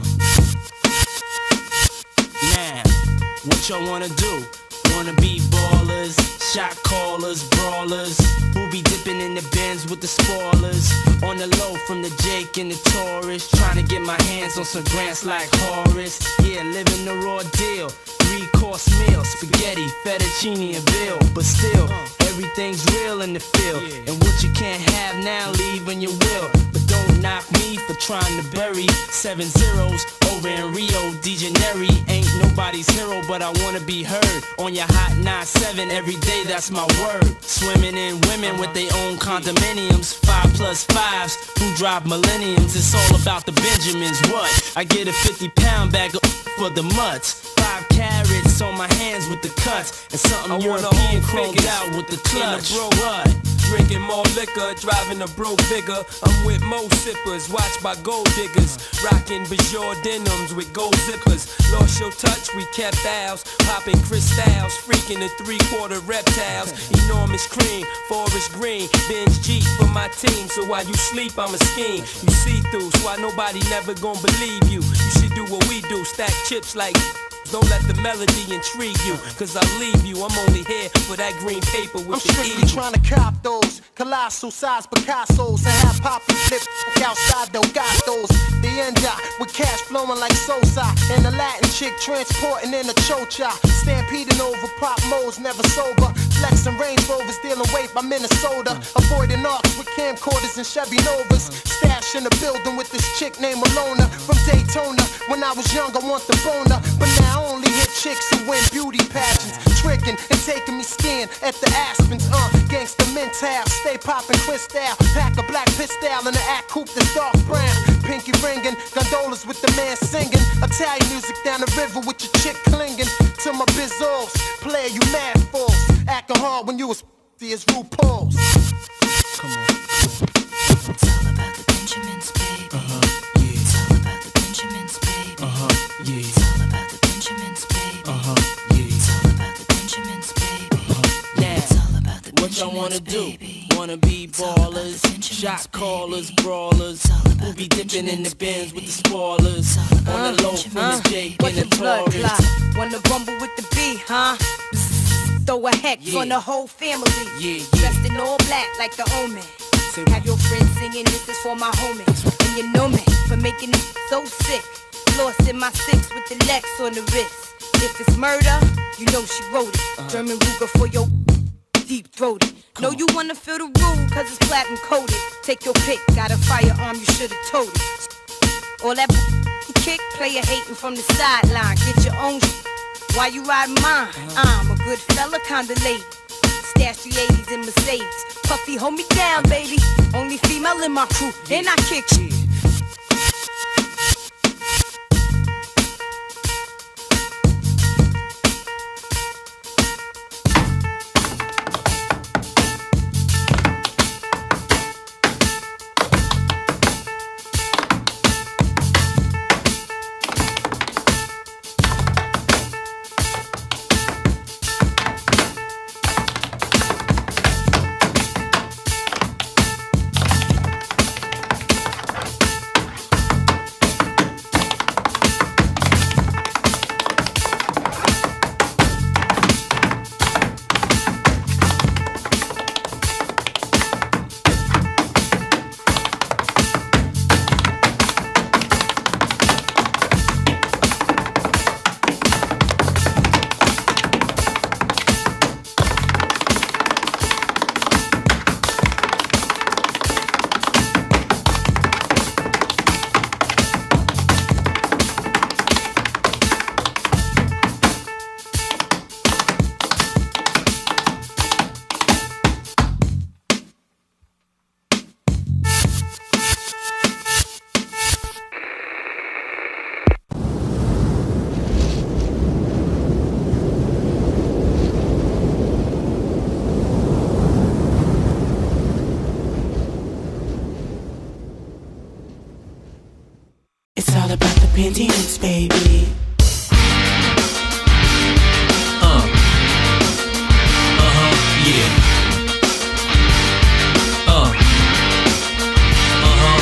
Now, what y'all wanna do? Wanna be ballers, shot callers, brawlers, who be dipping in the Benz with the spoilers. On the low from the Jake and the Taurus, trying to get my hands on some grants like Horace. Yeah, living the raw deal, three-course meal, spaghetti, fettuccine and veal. But still, everything's real in the field, and what you can't have now, leave when you will. But don't knock me for trying to bury seven zeros over in Rio de Janeiro. Ain't nobody's hero, but I wanna be heard on your hot nine seven every day, that's my word. Swimming in women with their own condominiums, five plus fives who drive millenniums. It's all about the Benjamins, what? I get a fifty pound bag of for the mutts. Five carats on my hands with the cuts, and something I wanna European hold chromed figures out with the clutch. in a bro- What? Drinking more liquor, driving a broke bigger. I'm with mo sippers, watched by gold diggers. Rocking Bajor denims with gold zippers. Lost your touch, we kept ours. Popping crystals, freaking the three-quarter reptiles. Enormous cream, forest green. Benz Jeep for my team, so while you sleep, I'm a scheme. You see through, so why nobody never gonna believe you. You should do what we do, stack chips like... Don't let the melody intrigue you, cause I'll leave you. I'm only here for that green paper with I'm the strictly eagle. trying to cop those colossal size Picassos and have Poppy flip outside Delgados. The end up with cash flowing like Sosa, and the Latin chick transporting in a chocha. Stampeding over pop modes, never sober. Flexing Range Rovers, dealing weight by Minnesota. Avoiding arcs with camcorders and Chevy Novas. Stash in the building with this chick named Alona from Daytona. When I was young, I want the boner, but now I only hit chicks who win beauty pageants, tricking and taking me skiing at the Aspens. Uh, gangsta mental, stay popping crystal, pack a black pistol in the act coupe that's dark brown. Pinky ringing, gondolas with the man singing. Italian music down the river with your chick clinging to my bizzos. Player, you mad fools, acting hard when you was f***y as RuPaul's. Come on. It's all about the Benjamins, baby. Uh-huh, yeah. It's all about the Benjamins, baby. Uh-huh, yeah. It's all about the Benjamins, baby. Uh-huh, yeah. It's all about the Benjamins, baby. Uh-huh, yeah. It's all about the What y'all wanna do? Wanna be ballers, shot callers, brawlers, who be dipping in the Benz with the spoilers. On the low from the Jake and the Taurus. Wanna rumble with the B, huh? Throw a hex Yeah. on the whole family. Yeah, yeah. Dressed in all black like the omen. Have your friends singing, this is for my homies. And you know me for making it so sick. Lost in my six with the Lex on the wrist. If it's murder, you know she wrote it. Uh-huh. German Ruger for your deep throated. Know you wanna feel the rule, cause it's platinum coated. Take your pick, got a firearm, you should've told it. All that kick, player hating from the sideline. Get your own sh- why you riding mine? I'm a good fella, kinda lady. Stash the eighties in Mercedes. Puffy, hold me down, baby. Only female in my crew, and I kick shit. Benjamins, baby. Uh. Uh-huh, yeah. Uh. Uh-huh.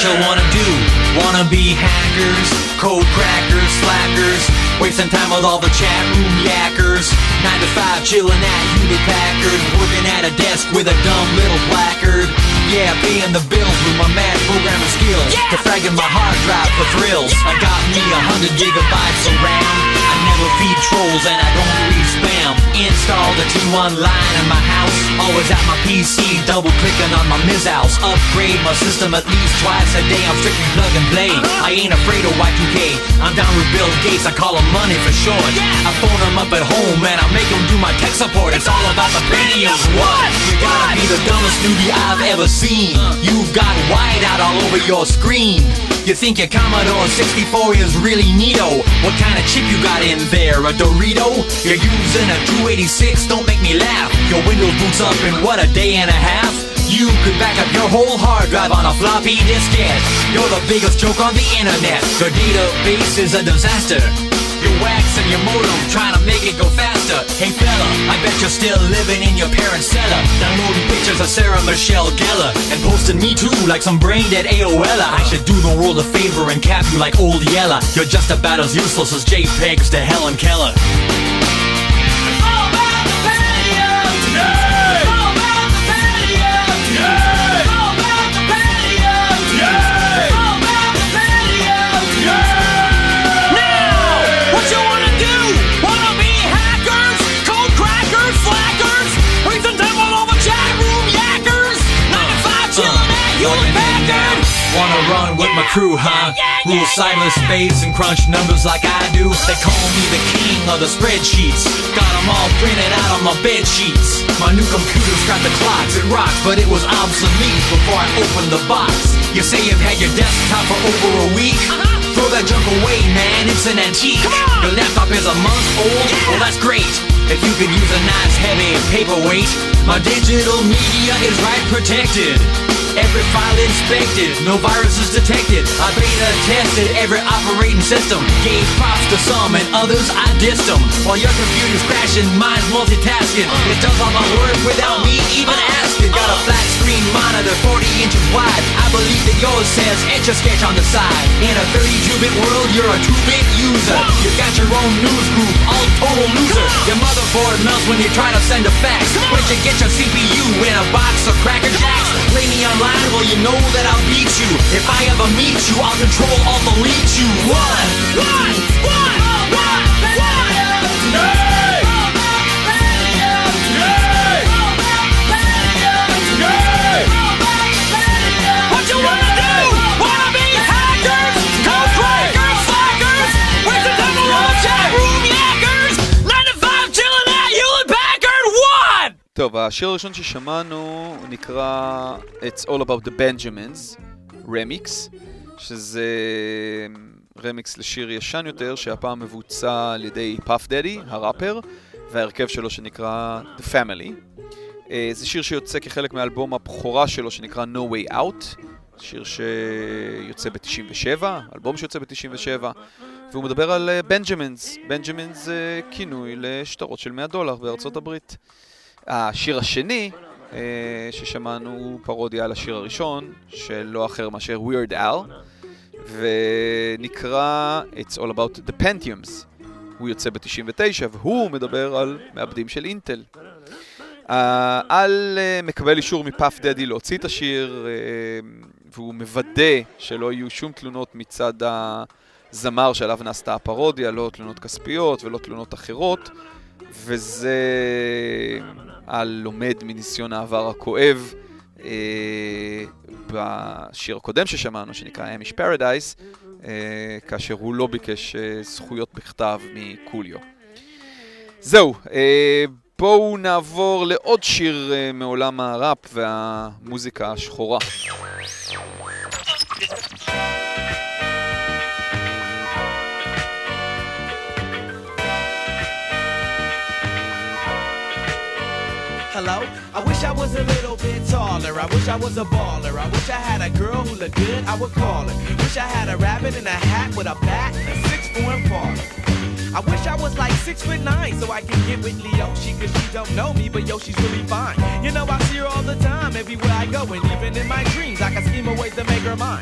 you wanna do? Wanna be hackers, code crackers, slackers, wasting time with all the chat room yackers. Nine to five chilling at Hewlett Packard, working at a desk with a dumb little placard. Yeah, paying the bills with my mad programming skills, yeah, defragging my hard drive for thrills. I got me a hundred gigabytes of RAM. I never feed trolls and I don't read spam. Installed a T one line in my house, always at my P C, double clicking on my Miz-House. Upgrade my system at least twice a day, I'm strictly plug and play. I ain't afraid of Y two K, I'm down with Bill Gates, I call him money for short. I phone him up at home and I make him do my tech support. It's all about the Pentiums. What? You gotta be the dumbest newbie I've ever seen. You've got whiteout all over your screen. You think your Commodore sixty-four is really neato. What kind of chip you got in there, a Dorito? You're using a two eighty-six, don't make me laugh. Your Windows boots up in what, a day and a half? You could back up your whole hard drive on a floppy diskette. You're the biggest joke on the internet. Your database is a disaster. You're waxing your modem, trying to make it go faster. Hey fella, I bet you're still living in your parents' cellar, downloading pictures of Sarah Michelle Gellar and posting me too like some brain dead A O L. I should do the world a favor and cap you like old Yella. You're just about as useless as JPEGs to Helen Keller. Wanna run with my crew, huh? Rule sightless space and crunch numbers like I do. They call me the king of the spreadsheets. Got them all printed out on my bed sheets. My new computer's got the clocks, it rocks, but it was obsolete before I opened the box. You say you've had your desktop for over a week? Throw that junk away, man, it's an antique. Your laptop is a month old? Well, that's great. If you could use a nice heavy paperweight. My digital media is right protected. Every file inspected, no viruses detected. I beta tested every operating system. Gave props to some and others I dissed them. While your computer's crashing, mine's multitasking. It does all my work without me even asking. Got a flat screen monitor, forty inches wide. I believe that yours says Etch-a-Sketch on the side. In a thirty-two bit world, you're a two bit user. You got your own news group, all total loser. Your motherboard melts when you try to send a fax. Where'd you get your C P U in a box of Cracker Jacks? Play me online, well you know that I'll beat you. If I ever meet you, I'll control all delete you. One, one, one, one, one. Hey! What you wanna do? Wanna be hackers, code crackers, slackers, with the devil on the chat room yackers, nine to five chilling at Hewlett Packard, what? טוב, השיר הראשון ששמענו נקרא It's All About the Benjamins, רמיקס, שזה רמיקס לשיר ישן יותר, שהפעם מבוצע על ידי פאף דדי, הראפר, וההרכב שלו שנקרא The Family. זה שיר שיוצא כחלק מאלבום הבכורה שלו שנקרא No Way Out, שיר שיוצא ב-תשעים ושבע, אלבום שיוצא ב-תשעים ושבע, והוא מדבר על בנג'מינס. בנג'מינס זה כינוי לשטרות של מאה דולר בארצות הברית. השיר השני ששמענו הוא פרודיה על השיר הראשון של לא אחר מאשר Weird Al, ונקרא It's All About the Pentiums. הוא יוצא ב-תשעים ותשע והוא מדבר על מעבדים של אינטל. על מקבל אישור מפאף דדי להוציא את השיר, והוא מוודא שלא יהיו שום תלונות מצד הזמר שעליו נעשתה הפרודיה, לא תלונות כספיות ולא תלונות אחרות, וזה על לומד מניסיון העבר הכואב בשיר הקודם ששמענו שנקרא Amish Paradise, כאשר הוא לא ביקש זכויות בכתב מקוליו. זהו, בואו נעבור לעוד שיר מעולם הראפ והמוזיקה השחורה. Hello? I wish I was a little bit taller. I wish I was a baller. I wish I had a girl who looked good, I would call her. Wish I had a rabbit in a hat with a bat and a six-form parlor. I wish I was like six foot nine so I can get with Leoshi, cause she don't know me, but yo, she's really fine. You know, I see her all the time, everywhere I go, and even in my dreams, I can scheme a way to make her mine.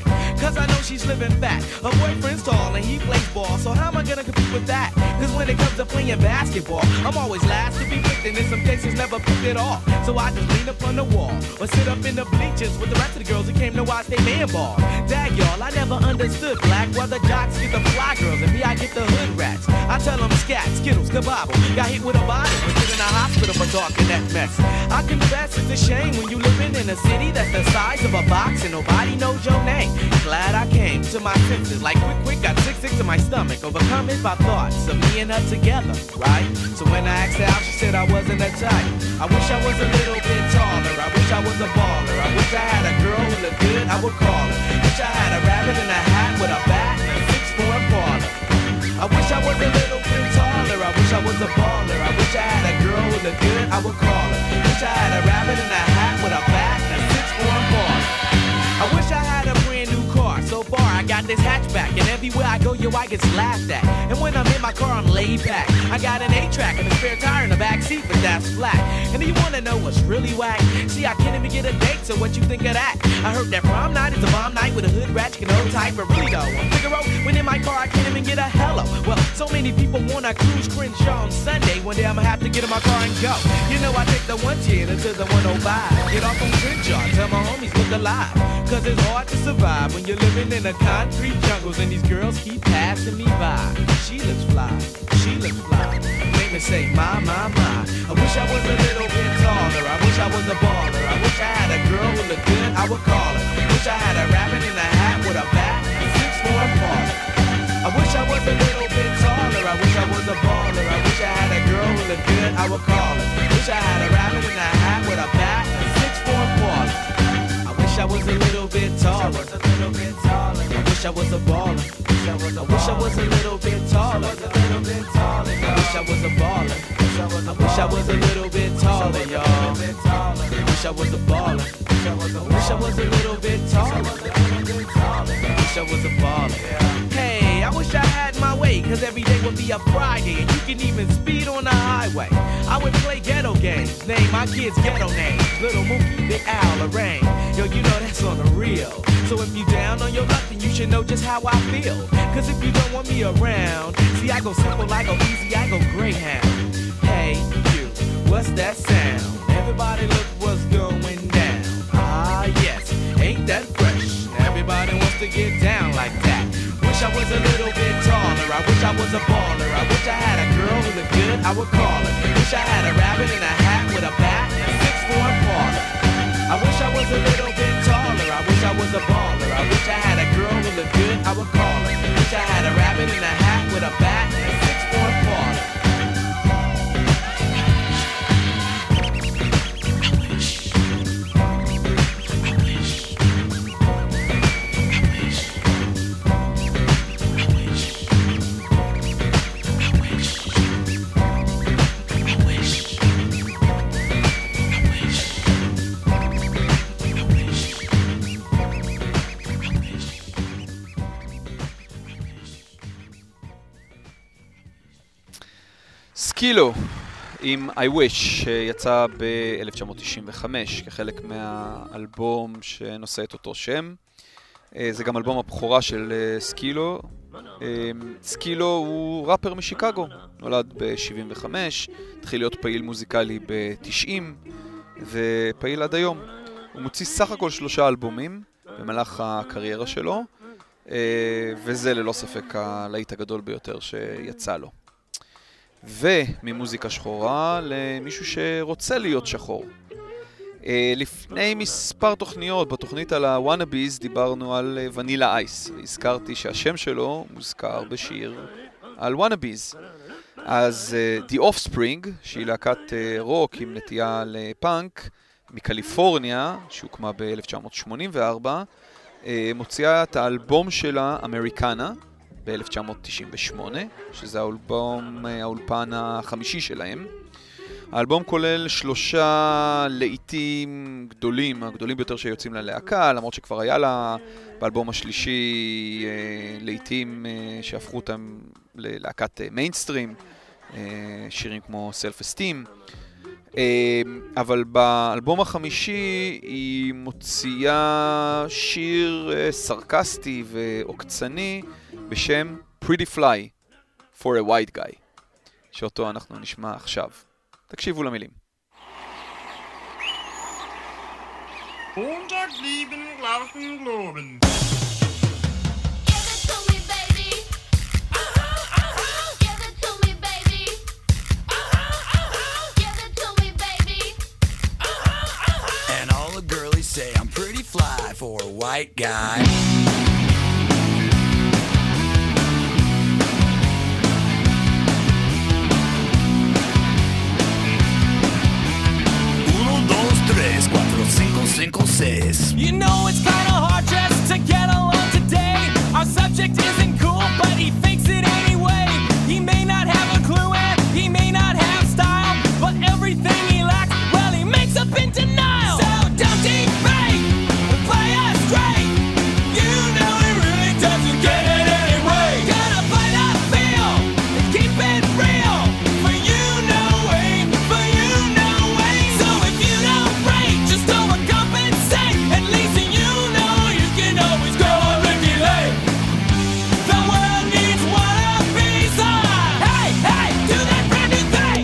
cause I know she's living fat. Her boyfriend's tall and he plays ball, so how am I gonna compete with that? Cause when it comes to playing basketball, I'm always last to be picked, and in some cases never picked at all. So I just lean up on the wall, or sit up in the bleachers with the rest of the girls who came to watch they man ball. Dag y'all, I never understood black, why the jocks get the fly girls and me I get the hood rats. I tell them scat, skittles, kabobble, got hit with a bottle, and put in a hospital for talking that mess. I confess it's a shame when you living in a city that's the size of a box and nobody knows your name. Glad I came to my senses, like quick quick got sick sick to my stomach, overcome it by thoughts of me and her together, right? So when I asked her out, she said I wasn't a type. I wish I was a little bit taller, I wish I was a baller, I wish I had a girl who looked good, I would call her. Wish I had a rabbit in a hat with a bat and a six four parlor. I wish I was a little bit taller, I wish I was a baller, I wish I had a girl who looked good, I would call her. Wish I had a rabbit in a hat with a bat and a six four parlor. I wish I had a brand new car. So far I got this hatchback, and everywhere I go, yo, I get laughed at. And when I'm in my car, I'm laid back. I got an eight-track and a spare tire in the back seat, but that's flat. And do you wanna know what's really whack? See, I can't even get a date, so what you think of that? I heard that prom night is a bomb night with a hood rat, you can hold tight, but really though, on Figaro, when in my car, I can't even get a hello. Well, so many people wanna cruise Crenshaw on Sunday. One day I'ma have to get in my car and go. You know, I take the one ten until the one oh five. Get off on Crenshaw, tell my homies look alive. Cause it's hard to survive when you're living in the concrete jungles and these girls keep passing me by. She looks fly, she looks fly. Make me say, my, my, my. I wish I was a little bit taller. I wish I was a baller. I wish I had a girl who looked good, I would call her. Wish I had a rabbit in a hat with a bat and six four parlor. I wish I was a little bit taller. I wish I was a baller. I wish I had a girl who looked good, I would call her. Wish I had a rabbit in a hat with a bat and six four parlor. I wish I was a little bit taller. I wish I was a baller. I wish I was a little bit taller. I wish I was a baller. I wish I was a little bit taller, y'all. I wish I was a baller. I wish I was a little bit taller. I wish I was a baller. Hey, I wish I had my way, cause every day would be a Friday, and you can even speed on the highway. I would play ghetto games, name my kids ghetto names. Little Mookie, Big Al, Lorraine. Yo, you know that's on the real. So if you down on your luck, then you should know just how I feel. Cause if you don't want me around, see I go simple, I go easy, I go Greyhound. Hey, you, what's that sound? Everybody look what's going down. Ah, yes, ain't that fresh? Everybody wants to get down like that. Wish I was a little bit taller. I wish I was a baller. I wish I had a girl who looked good, I would call her. Wish I had a rabbit in a hat with a bat and a six four parlor. I wish I was a little bit taller. I wish I was a baller. I wish I had a girl who looked good, I would call her. Wish I had a rabbit in a hat with a bat and a six four parlor. סקילו עם I Wish שיצא ב-אלף תשע מאות תשעים וחמש כחלק מהאלבום שנושא את אותו שם. זה גם אלבום הבכורה של סקילו. סקילו הוא ראפר משיקגו, נולד ב-שבעים וחמש, התחיל להיות פעיל מוזיקלי ב-תשעים ופעיל עד היום. הוא מוציא סך הכל שלושה אלבומים במהלך הקריירה שלו, וזה ללא ספק הלהיט הגדול ביותר שיצא לו. וממוזיקה שחורה למישהו שרוצה להיות שחור. לפני מספר תוכניות, בתוכנית על הוואנאביז דיברנו על ונילה אייס. הזכרתי שהשם שלו מוזכר בשיר על וואנאביז. אז The Offspring, שהיא להקת רוק עם נטייה לפאנק מקליפורניה, שהוקמה ב-אלף תשע מאות שמונים וארבע, מוציאה את האלבום שלה אמריקנה ב-אלף תשע מאות תשעים ושמונה, שזה האלבום, האולפן החמישי שלהם. האלבום כולל שלושה לעיתים גדולים, הגדולים ביותר שיוצאים ללהקה, למרות שכבר היה לה באלבום השלישי לעיתים שהפכו אותם ללהקת מיינסטרים, שירים כמו Self Esteem. אבל באלבום החמישי היא מוציאה שיר סרקסטי ועוקצני בשם Pretty Fly for a White Guy, שאותו אנחנו נשמע עכשיו. תקשיבו למילים. Unterglieben, Glauben, Globen. And all the girlies say I'm pretty fly for a white guy. Uno, dos, tres, cuatro, cinco, cinco, seis. You know it's kinda hard just to get along today. Our subject isn't cool, but he fakes it anyway. He may not have a clue and he may not have style, but everything he lacks, well, he makes up in denial. So don't debate, play us straight. You know he really doesn't get it anyway. Gotta play that feel and keep it real. For you, no way, for you, no way. So if you don't break, just overcompensate. At least you know you can always go and regulate. The world needs one of these. Hey, hey, do that brand new thing.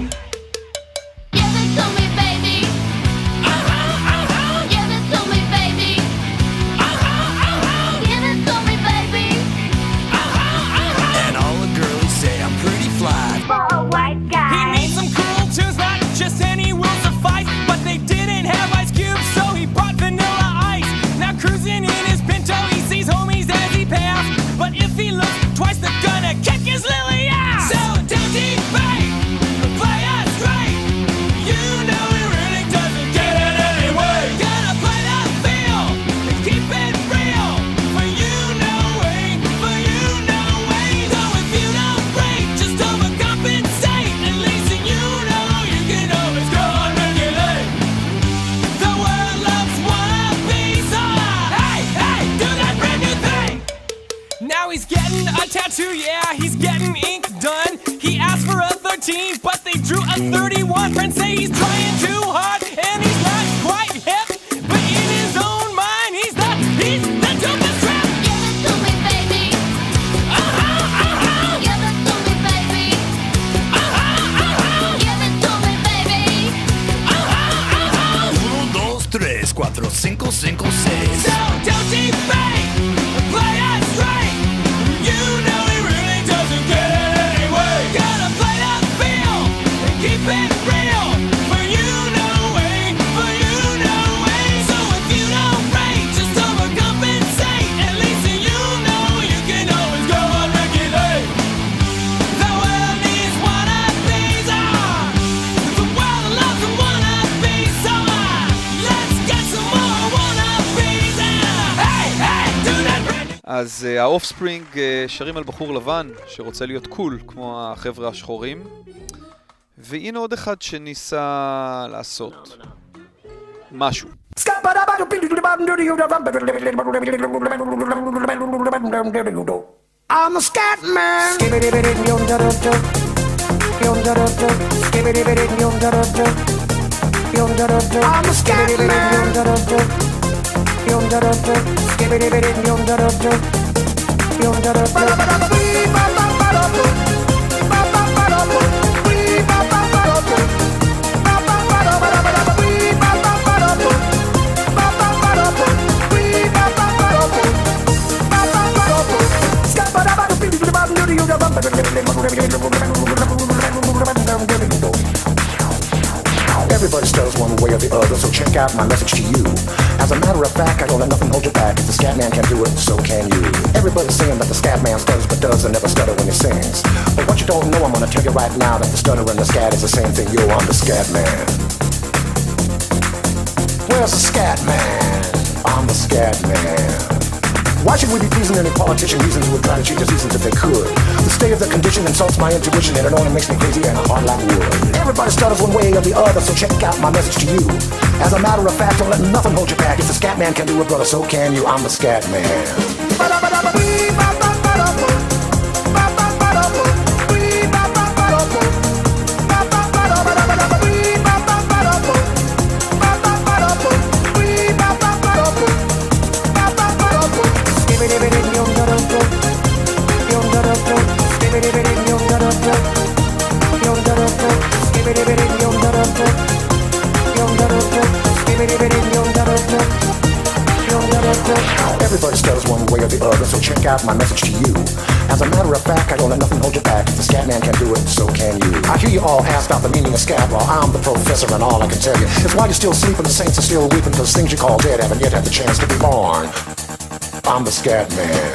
Give it to me, baby. Uh-huh, uh-huh. Give it to me, baby. Uh-huh, uh-huh. Give it to me, baby. Uh-huh, uh-huh. And all the girlies say I'm pretty fly. For a white guy. He needs some cool tunes, not just any will suffice. But they didn't have Ice Cube, so he brought Vanilla Ice. Now cruising in his Pinto, he sees homies as he passed. But if he looks twice, they're gonna kick his lily ass. So don't debate, play us straight. You know he really doesn't get it anyway. Gotta play that feel and keep it real. For you, no way, for you, no way. So if you don't break, just overcompensate. At least you know you can always go and regulate. The world loves one of these. Hey, hey, do that brand new thing. Now he's getting a tattoo, yeah, he's getting ink done. He asked for a thirteen, but they drew a thirty-one. Friends say he's trying too hard, and he's not quite hip. But in his own mind, he's the, he's the dopest trap. Give it to me, baby. Uh-huh, uh-huh. Give it to me, baby. Uh-huh, uh-huh. Give it to me, baby. Uh-huh, uh-huh. Uno, dos, tres, cuatro, cinco, cinco, seis. So don't debate, play us straight. You know he really doesn't get it anyway. Gotta play that feel and keep it real. For you, no way, for you, no way. So if you don't break, just overcompensate. At least you know you can always go and regulate. The world needs one of these. Ah, the world loves one of these. So ah, let's get some more one of these. Ah, hey, hey, do that brand new. אז האופספרינג שרים על בחור לבן שרוצה להיות קול כמו החבר'ה השחורים, והנה עוד אחד שניסה לעשות משהו. I'm a scat man. I'm a scat man. Everybody stutters one way or the other, so check out my message to you. As a matter of fact, I don't let nothing hold you back. If the scat man can do it, so can you. Everybody's saying that the scat man stutters but does and never stutter when he sings. But what you don't know, I'm gonna tell you right now that the stutter and the scat is the same thing. Yo, I'm the scat man. Where's the scat man? I'm the scat man. Why should we be pleasing any politician reasons who would try to change the seasons if they could? The state of the condition insults my intuition and it only makes me crazy and hard like wood. Everybody stutters one way or the other, so check out my message to you. As a matter of fact, don't let nothing hold you back. If the scat man can do it, brother, so can you. I'm the scat man. Everybody stutters one way or the other, so check out my message to you. As a matter of fact, I don't let nothing hold you back. If the scat man can do it, so can you. I hear you all ask about the meaning of scat. Well, I'm the professor, and all I can tell you is why you're still sleeping, the saints are still weeping, because things you call dead haven't yet had the chance to be born. I'm the scat man.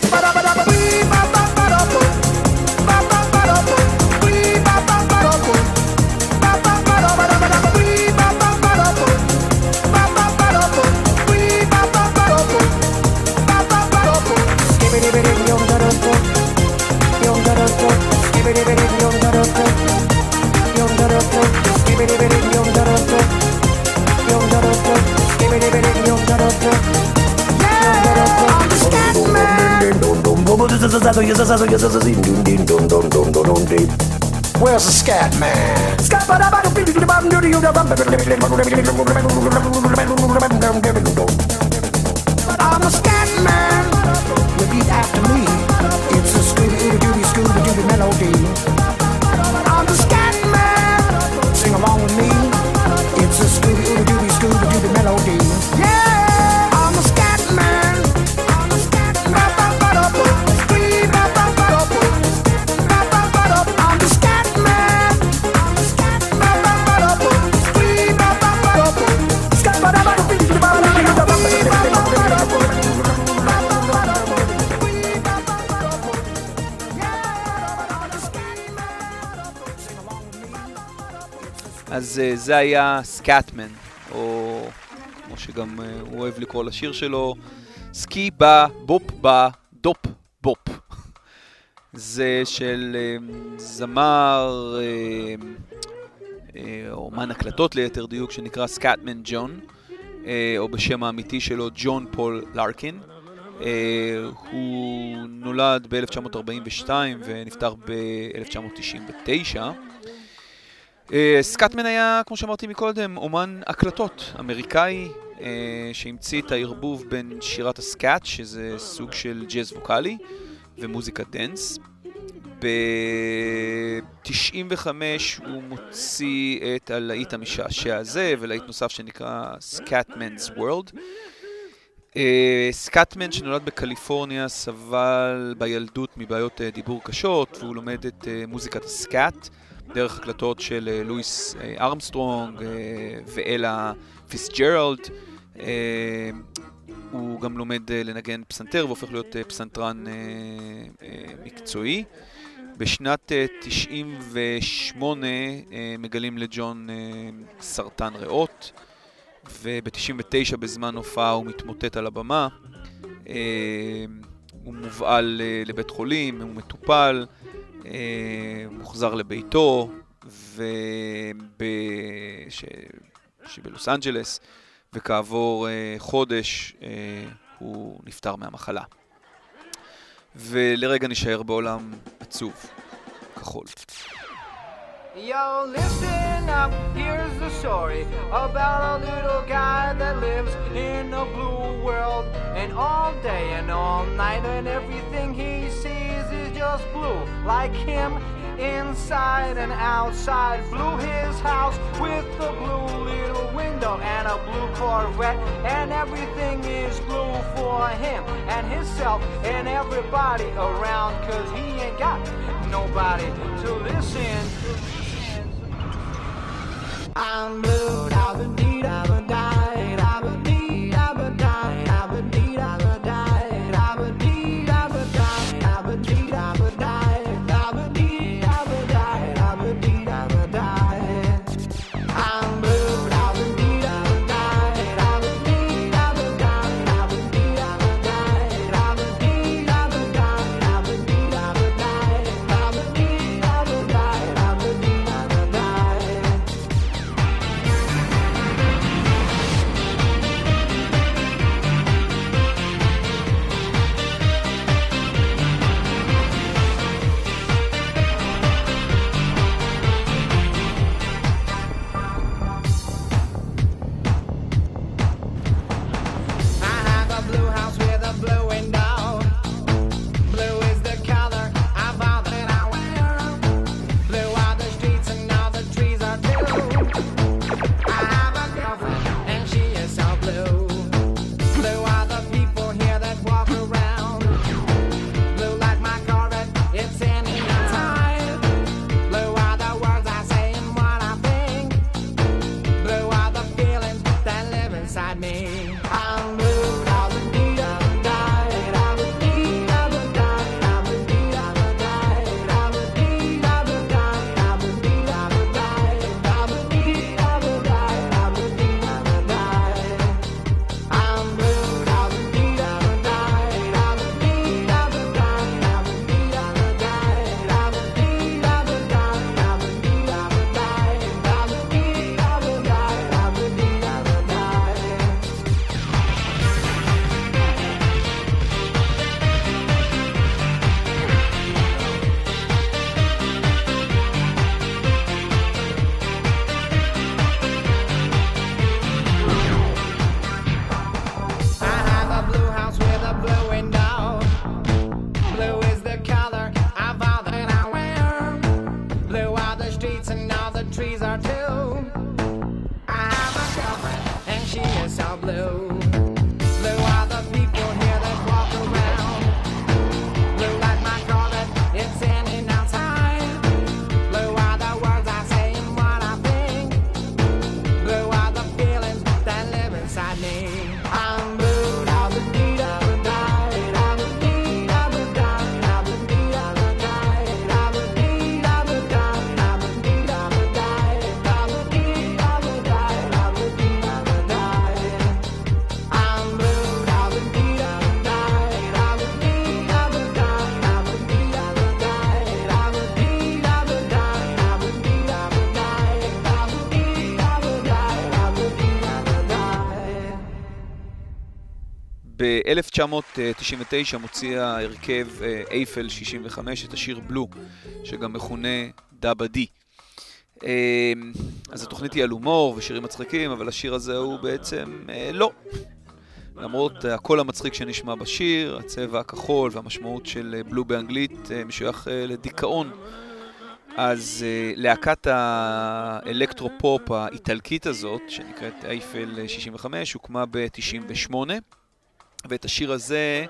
Where's the scat man? I'm a scat man. Repeat after me. It's a Scooby-Dooby, Scooby-Dooby melody. I'm the scat man. Sing along with me. It's a Scooby-Dooby, Scooby-Dooby melody. Yeah, I'm a scat man. I'm a scat man. I'm the scat man. I'm the scat אז זה היה סקאטמן, או כמו שגם הוא אוהב לקרוא לשיר שלו, סקי בא בופ בא דופ בופ. זה של זמר או אומן הקלטות ליתר דיוק שנקרא סקאטמן ג'ון, או בשם האמיתי שלו ג'ון פול לארקין. הוא נולד ב-אלף תשע מאות ארבעים ושתיים ונפטר ב-אלף תשע מאות תשעים ותשע. סקאטמן היה, כמו שאמרתי מקודם, אומן הקלטות אמריקאי שהמציא את הערבוב בין שירת הסקאט, שזה סוג של ג'אז ווקלי, ומוזיקת דנס. ב-תשעים וחמש הוא מוציא את הלהיט המשעשע הזה, ולהיט נוסף שנקרא Scatman's World. סקאטמן שנולד בקליפורניה סבל בילדות מבעיות דיבור קשות, והוא לומד את מוזיקת הסקאט דרך הקלטות של לואיס ארמסטרונג ואלה פיסג'רלד. הוא גם לומד לנגן פסנתר והופך להיות פסנתרן מקצועי. בשנת תשעים ושמונה מגלים לג'ון סרטן ריאות, וב-תשעים ותשע בזמן הופעה הוא מתמוטט על הבמה. הוא מובעל לבית חולים, הוא מטופל, מוחזר לביתו, שבלוס אנג'לס, וכעבור חודש הוא נפטר מהמחלה. ולרגע נשאר בעולם עצוב, כחול. Yo, listen up, here's the story about a little guy that lives in a blue world. And all day and all night and everything he sees is just blue. Like him, inside and outside. Blue his house with a blue little window and a blue Corvette. And everything is blue for him and himself and everybody around. Cause he ain't got nobody to listen. I'm blue, I've been deed, I've been died, I've been deed, I've been died, I've been deed, I've been died, I've been deed, I've been died, I've been deed, I've been died, I've been deed, I've been died, I've been deed, I've been died. I'm blue, I've been deed, I've been died, I've been deed, I've been died, I've been deed, I've been died, I've been deed, I've been died, I've been deed, I've been died, I've been deed, I've been died, I've been deed, I've been died. blue. Blue are the people here that walk around. Blue like my Corvette, it's standing outside. Blue are the words I say and what I think. Blue are the feelings that live inside me. I'm blue, da ba dee da ba die, da ba dee da ba die, da ba dee da ba die, da ba dee da ba die, da ba dee da ba die, da ba dee da ba die, da ba dee da ba die. I'm blue, da ba dee da ba die, da ba dee da ba die, da ba dee da ba die, da ba dee da ba die, da ba dee da ba die, da ba dee da ba die, da ba dee da ba die. ב-אלף תשע מאות תשעים ותשע מוציא ההרכב אייפל שישים וחמש את השיר בלו, שגם מכונה דאבה די. אז התוכנית היא על הומור ושירים מצחיקים, אבל השיר הזה הוא בעצם לא. למרות הקול המצחיק שנשמע בשיר, הצבע הכחול והמשמעות של בלו באנגלית משוייך לדיכאון. אז להקת האלקטרופופ האיטלקית הזאת, שנקראת אייפל שישים וחמש, הוקמה ב-תשעים ושמונה. ואת השיר הזה,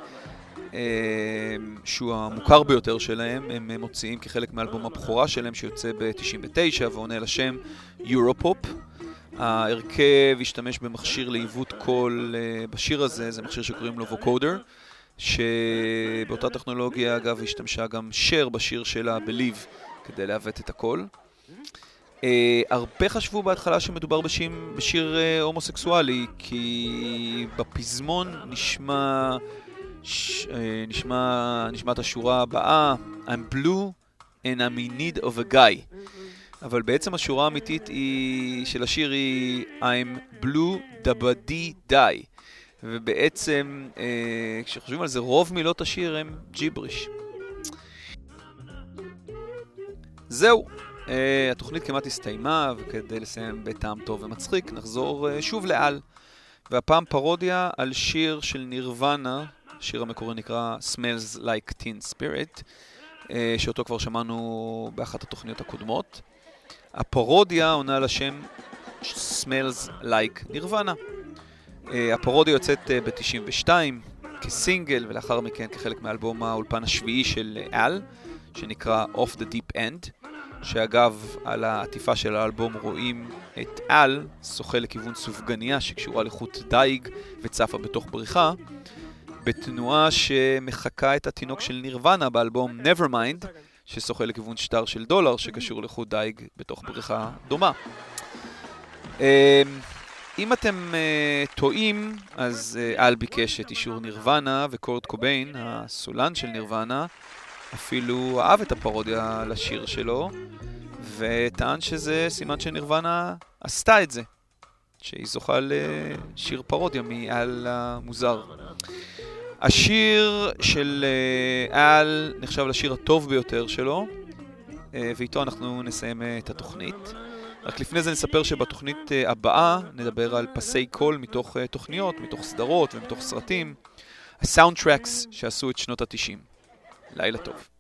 שהוא המוכר ביותר שלהם, הם מוציאים כחלק מאלבום הבכורה שלהם שיוצא ב-תשעים ותשע ועונה לשם יורופופ. ההרכב השתמש במכשיר לעיוות קול בשיר הזה, זה מכשיר שקוראים לו ווקודר, שבאותה טכנולוגיה אגב השתמשה גם שר בשיר שלה בליב כדי לעוות את הקול. Uh, הרבה חשבו בהתחלה שמדובר בשיר, בשיר uh, הומוסקסואלי, כי בפזמון נשמע, ש, uh, נשמע, נשמעת השורה הבאה, I'm blue and I'm in need of a guy. אבל בעצם השורה האמיתית היא, של השיר היא I'm blue dabadi die. ובעצם, uh, כשחושבים על זה, רוב מילות השיר הם ג'יבריש. זהו. Uh, התוכנית כמעט הסתיימה, וכדי לסיים בטעם טוב ומצחיק, נחזור uh, שוב לעל. והפעם פרודיה על שיר של נירוונה, השיר המקורי נקרא Smells Like Teen Spirit, uh, שאותו כבר שמענו באחת התוכניות הקודמות. הפרודיה עונה על השם Smells Like נירוונה. Uh, הפרודיה יוצאת uh, ב-תשעים ושתיים כסינגל, ולאחר מכן כחלק מאלבום האולפן השביעי של אל, שנקרא Off the Deep End. שאגב, על העטיפה של האלבום רואים את אל, שוחה לכיוון סופגניה שקשורה לחוט דייג וצפה בתוך בריכה, בתנועה שמחכה את התינוק של נירוונה באלבום Nevermind, ששוחה לכיוון שטר של דולר שקשור לחוט דייג בתוך בריכה דומה. אם אתם טועים, אז אל ביקש את אישור נירוונה, וקורט קוביין, הסולן של נירוונה, אפילו אהב את הפרודיה לשיר שלו, וטען שזה סימן שנירוונה עשתה את זה, שהיא זוכה לשיר פרודיה מאל המוזר. השיר של אל נחשב לשיר הטוב ביותר שלו, ואיתו אנחנו נסיים את התוכנית. רק לפני זה נספר שבתוכנית הבאה נדבר על פסי קול מתוך תוכניות, מתוך סדרות ומתוך סרטים, הסאונדטרקס שעשו את שנות ה-תשעים. לילה טוב.